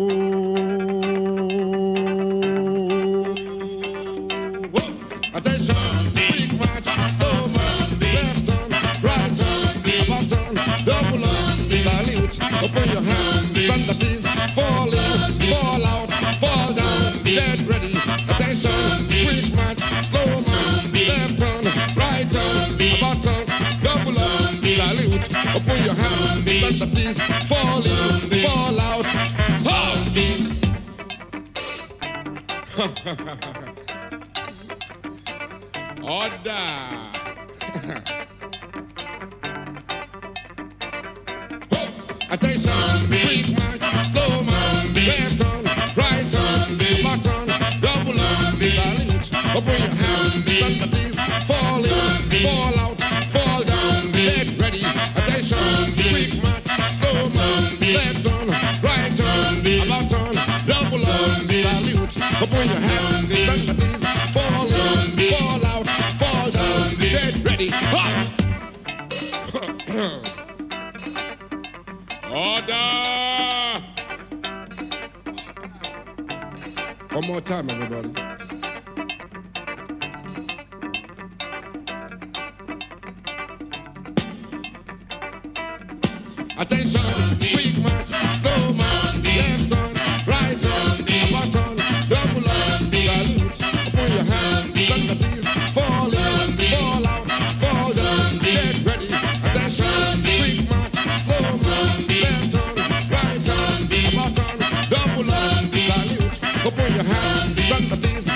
Whoa. Attention, quick march, slow march, left turn, right turn, about turn, double up, salute, open your hand, stand at ease, fall in, fall out, fall down, dead ready. Attention, quick march, slow march, left turn, right turn, about turn, double up, salute, open your hand, stand at ease, fall in, fall out, fall in. Order. Attention, quick march, slow march, left turn, right turn, back turn, double up, salute, open your hands, stand at ease, fall in, fall out, fall down, get ready. Attention, quick march, slow march, left turn, right turn, back turn, double up, salute, open your hands, stand at ease, fall in, fall out, fall down, get ready, hot. Order! One more time, everybody. Attention, quick march, slow march, left turn, right turn, about turn, double up, salute, open your hands, stand at ease, fall in, fall out, fall down, get ready. Attention, quick march, slow march, left turn, right turn, about turn, double up, salute, open your hands, stand at ease,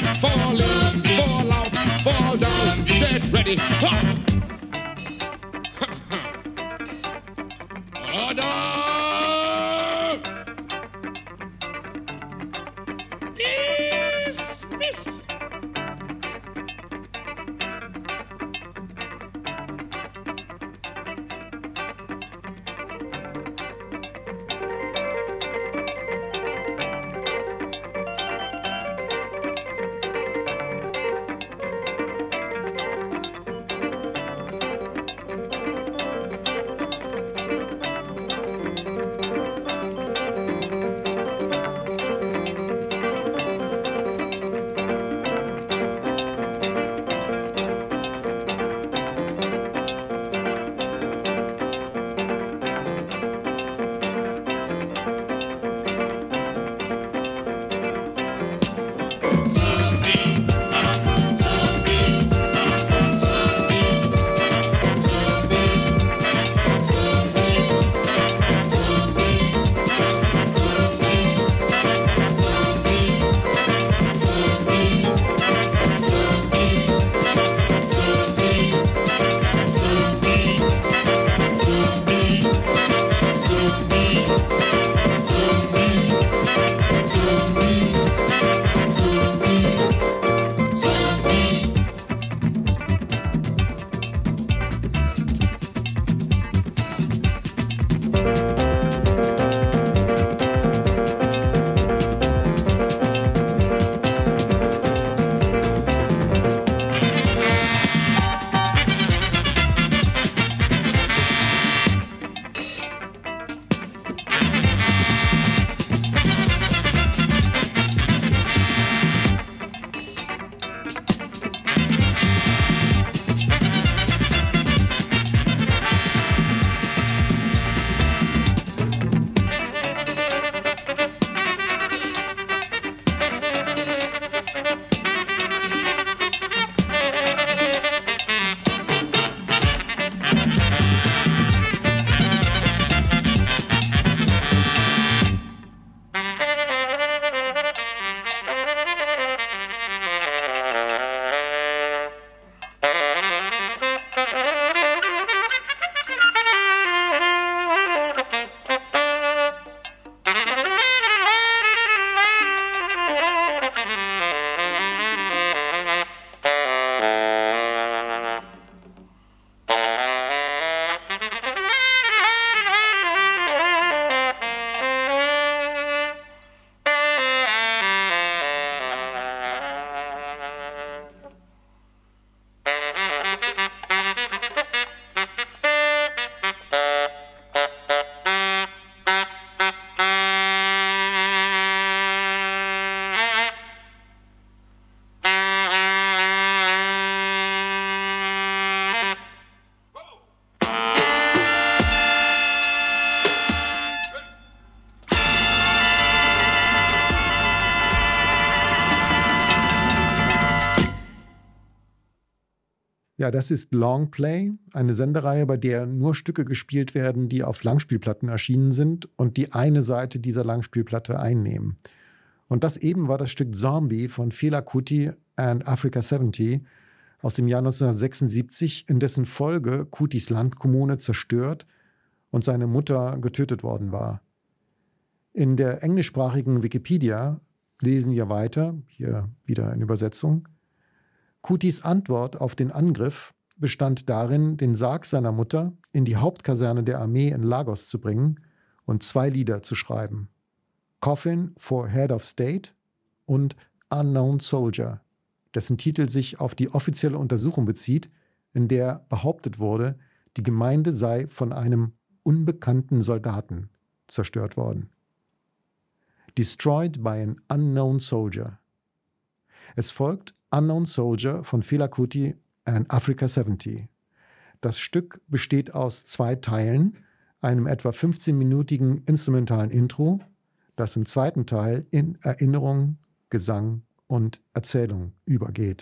Ja, das ist Longplay, eine Sendereihe, bei der nur Stücke gespielt werden, die auf Langspielplatten erschienen sind und die eine Seite dieser Langspielplatte einnehmen. Und das eben war das Stück Zombie von Fela Kuti and Africa siebzig aus dem Jahr neunzehnhundertsechsundsiebzig, in dessen Folge Kutis Landkommune zerstört und seine Mutter getötet worden war. In der englischsprachigen Wikipedia lesen wir weiter, hier wieder in Übersetzung: Kutis Antwort auf den Angriff bestand darin, den Sarg seiner Mutter in die Hauptkaserne der Armee in Lagos zu bringen und zwei Lieder zu schreiben: Coffin for Head of State und Unknown Soldier, dessen Titel sich auf die offizielle Untersuchung bezieht, in der behauptet wurde, die Gemeinde sei von einem unbekannten Soldaten zerstört worden. Destroyed by an Unknown Soldier. Es folgt Unknown Soldier von Fela Kuti and Africa siebzig. Das Stück besteht aus zwei Teilen, einem etwa fünfzehnminütigen instrumentalen Intro, das im zweiten Teil in Erinnerung, Gesang und Erzählung übergeht.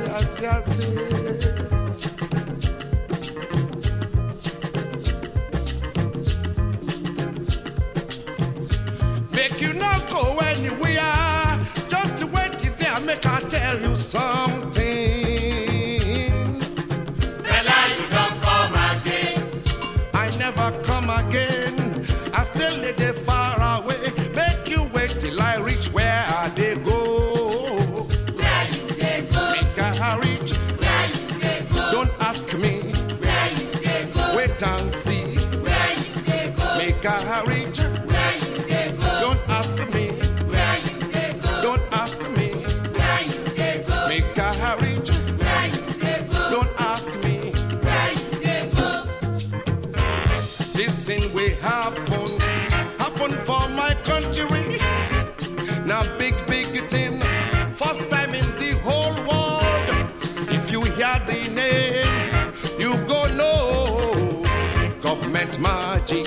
yes, yes, yes. Make you not go anywhere. Just wait till there, make I tell you something. Fella, you don't come again. I never come again. I still live there far away. Make you wait till I reach where they go. Where you dey go? Make I reach. Where you dey go? Don't ask me. Where you dey go? Wait and see. Where you dey go? Make I reach. Where you dey go? Don't ask me. Where you dey go? Don't ask me. Where you dey go? Make I reach. Where you dey go? Don't ask me. Where you dey go? This thing will happen. Happen for my country. Now big, big thing. First time in the whole world. If you hear the name, you go know. Government magic.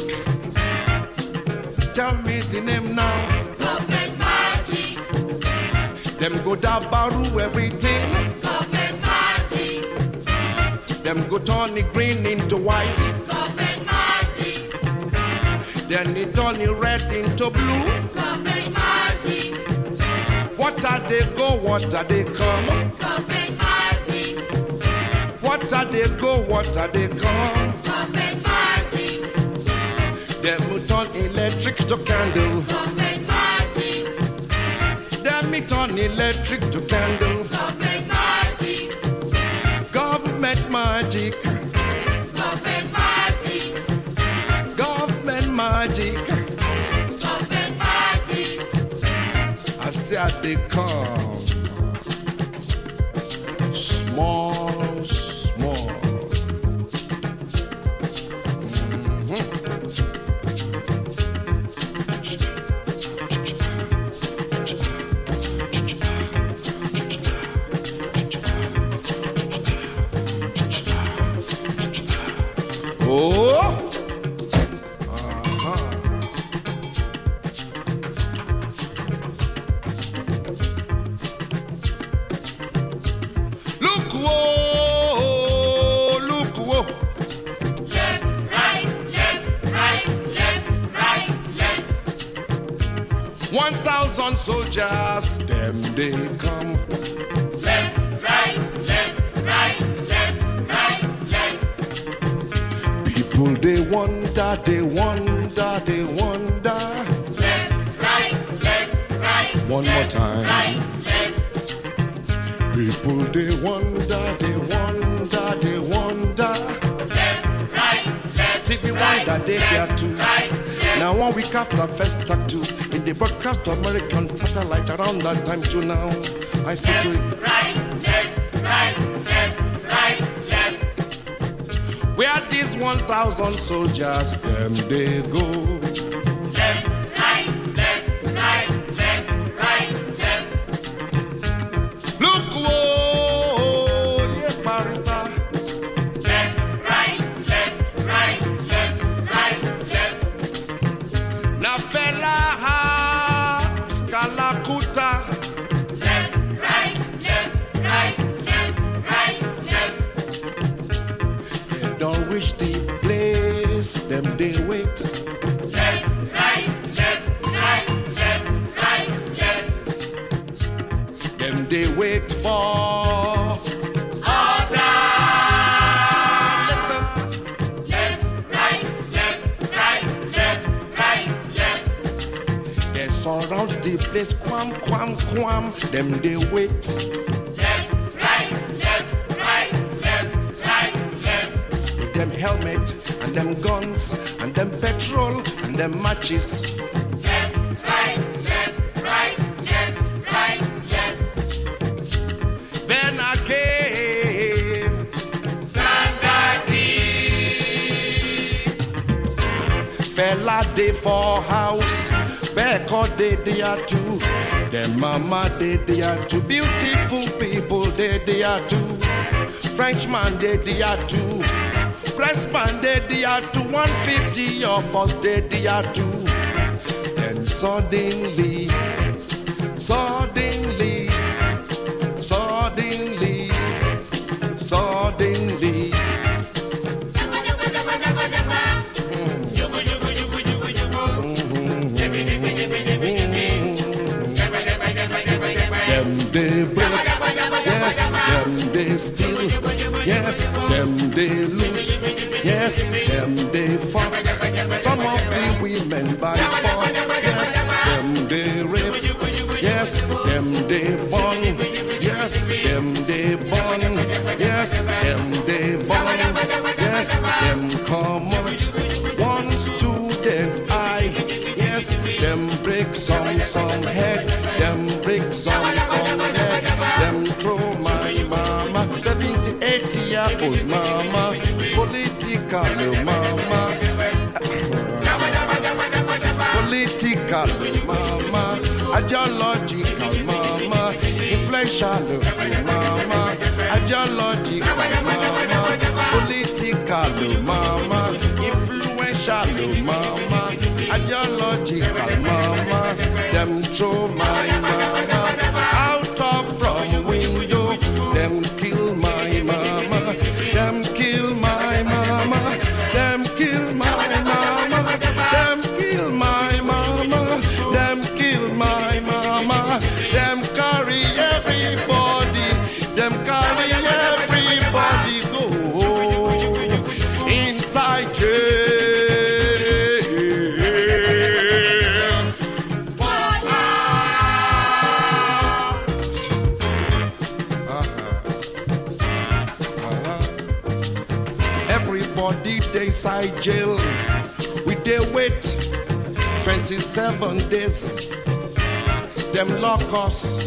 Tell me the name now. Government magic. Them go dabaru everything. Government magic. Them go turn the green into white. Government magic. Then it turn the red into blue. Government magic. What are they go? What are they come? Government magic. What are they go? What are they come? Government magic. Them will turn electric to candle. Government magic. Them me turn electric to candle. Government magic. Government magic. Government magic. Government magic. Government magic. I say I they come. Small, small. Oh! Uh-huh. Look, whoa! Look, whoa! Left, right, left, right, left, right, left. One thousand soldiers, them they come. Left, right, left, right, left, right, left. People they wonder, they wonder, they wonder. Left, right, left, right. One more left, time. Right, left. People they wonder, they wonder, they wonder. Left, right, left. Stevie right, Wonder they left, get to. Right, left. Now one week after first tattoo in the broadcast to American satellite around that time to now. I say to it, Right, left, right, left, right, left. where these one thousand soldiers them they go. Left, right, left, right, left, right, left. Look, whoa, yeah, Marita. Left, right, left, right, left, right, left. Na fella Kalakuta. Left, right, left, right, left, right, left. They don't reach the place, them they wait. Left, right, left, right, left, right, left. Them they wait for Order. listen. Left, right, left, right, left, right, left. They surround the place, quam, quam, quam. Them they wait. Left, right, left, right, left, right, left. With them helmet and them guns and them petrol and them matches. Left, right, left, right, left, right, left. Then again, Standard East. fella day for house, Becker day there too. Them mama day there too. Beautiful people day there too. Frenchman day there too. Pressman day there too. one fifty of us day there too. Then suddenly, suddenly, suddenly, suddenly. Them they break, yes, them they steal, yes, them they loot, yes, them they fuck. Some of the women by force, yes, them they rape, yes, them they burn, yes, them they burn, yes, them they burn, yes, them come out. One student's eye, yes, them break some some head, them break some some head, them throw my mama, seventy, eighty year old mama, political mama, political mama, ideological mama, influential mama, ideological mama, political mama, influential mama, ideological mama, them throw my mama out of from window, them kill my mama, them kill my mama, them kill my mama, them kill my mama, them kill my mama, them carry everybody, them carry everybody go inside jail. Everybody they inside jail. We they wait twenty-seven days. Them lock us.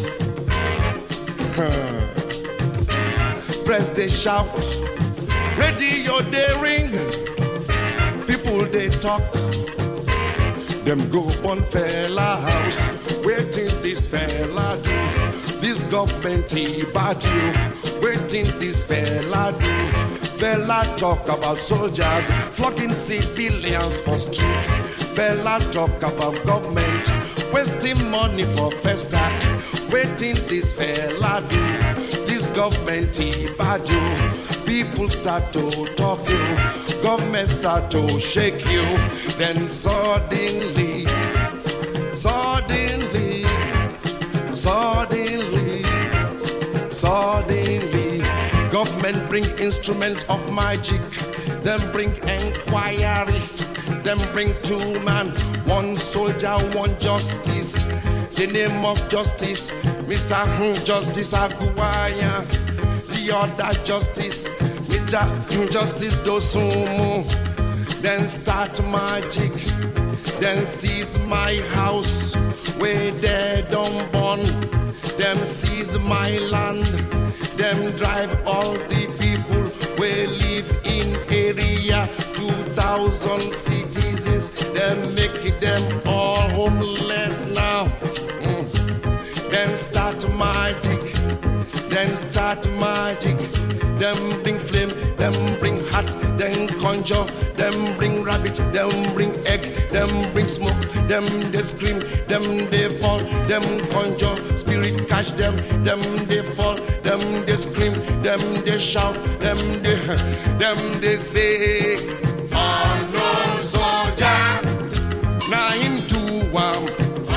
Press they shout. Radio they ring. People they talk. Them go on fella house. Waiting this fella do. This government he bad you. Waiting this fella do. Fella talk about soldiers flogging civilians for streets. Fella talk about government wasting money for first act. Waiting this fella do. This government he bad you. People start to talk you. Government start to shake you. Then suddenly, suddenly, suddenly, suddenly, government bring instruments of magic. Them bring inquiry. Them bring two man, one soldier, one justice. The name of justice, Mister Justice Aguaya. The other justice, Mister Justice Dosumu. Then start magic. Then seize my house where they don't burn. Them seize my land. Them drive all the people we live in area. Two thousand citizens. Them make them all homeless now. Mm. Then start magic. Then start magic. Them bring flame, them bring hat, them conjure, them bring rabbit, them bring egg, them bring smoke, them they scream, them they fall, them conjure, spirit catch them, them they fall, them they scream, them they shout, them they, them they say, unknown soldier, now him do one.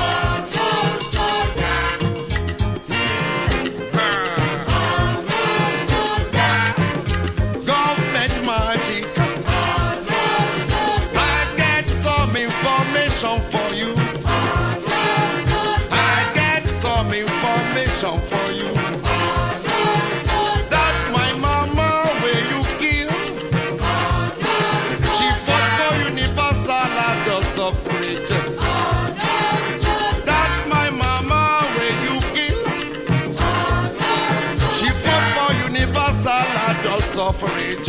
For you, I get some information for you. That's my mama where you kill. She fought for universal adults of suffrage. That my mama where you kill. She fought for universal adult suffrage.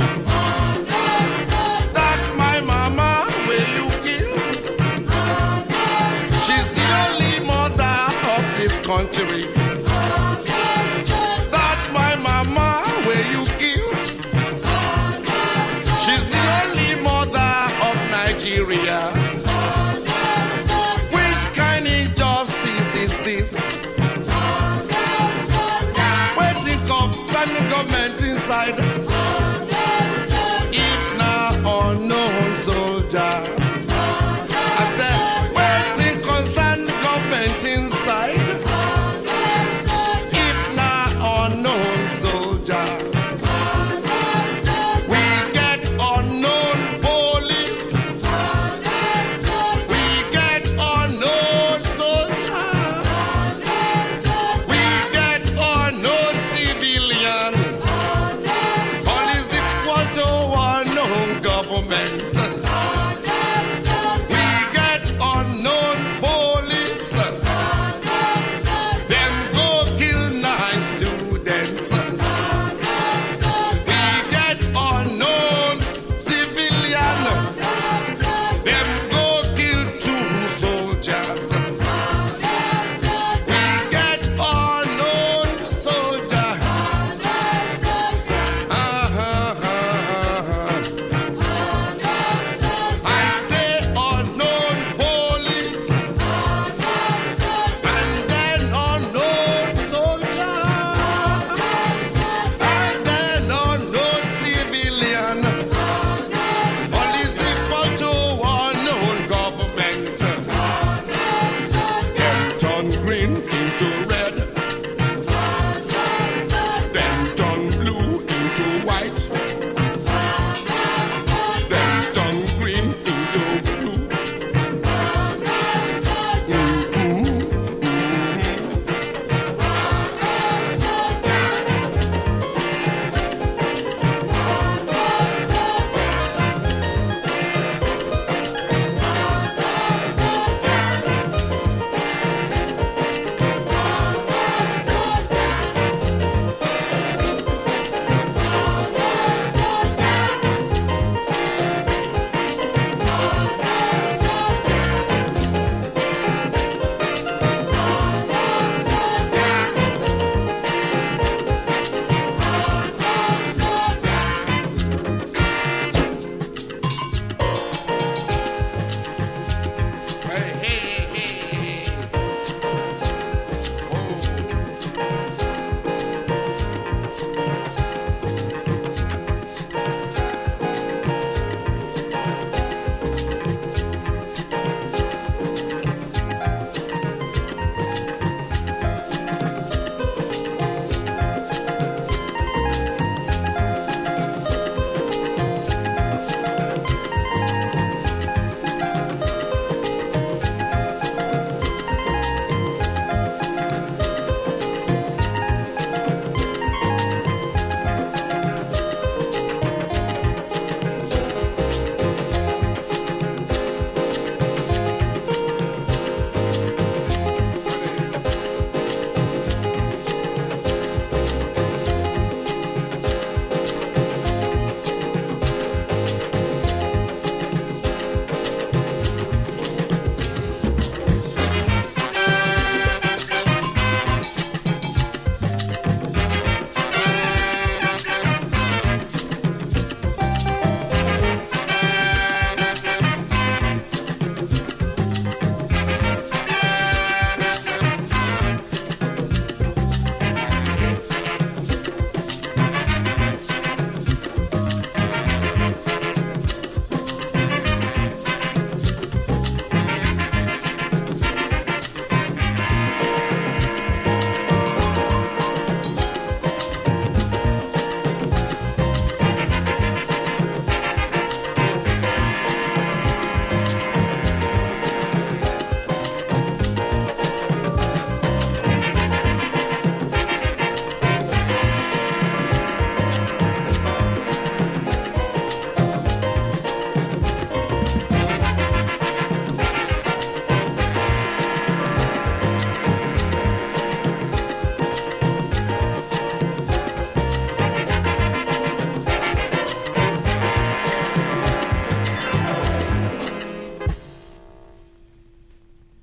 That my mama where you kill. She's the only mother of this country. That my mama where you kill. She's the only mother of Nigeria. Which kind of injustice is this? Waiting of federal government inside. If not unknown soldier. I said, waiting constant government inside.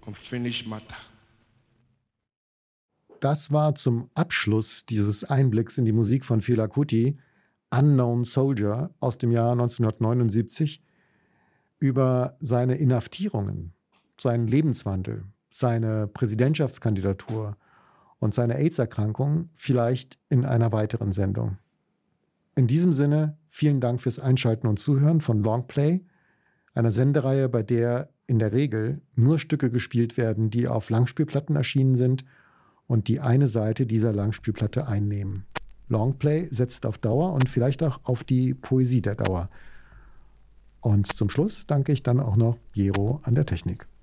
unfinished matter. Das war zum Abschluss dieses Einblicks in die Musik von Fela Kuti Unknown Soldier aus dem Jahr neunzehnhundertneunundsiebzig über seine Inhaftierungen, seinen Lebenswandel, seine Präsidentschaftskandidatur und seine AIDS-Erkrankung vielleicht in einer weiteren Sendung. In diesem Sinne, vielen Dank fürs Einschalten und Zuhören von Longplay, einer Sendereihe, bei der in der Regel nur Stücke gespielt werden, die auf Langspielplatten erschienen sind und die eine Seite dieser Langspielplatte einnehmen. Longplay setzt auf Dauer und vielleicht auch auf die Poesie der Dauer. Und zum Schluss danke ich dann auch noch Jero an der Technik.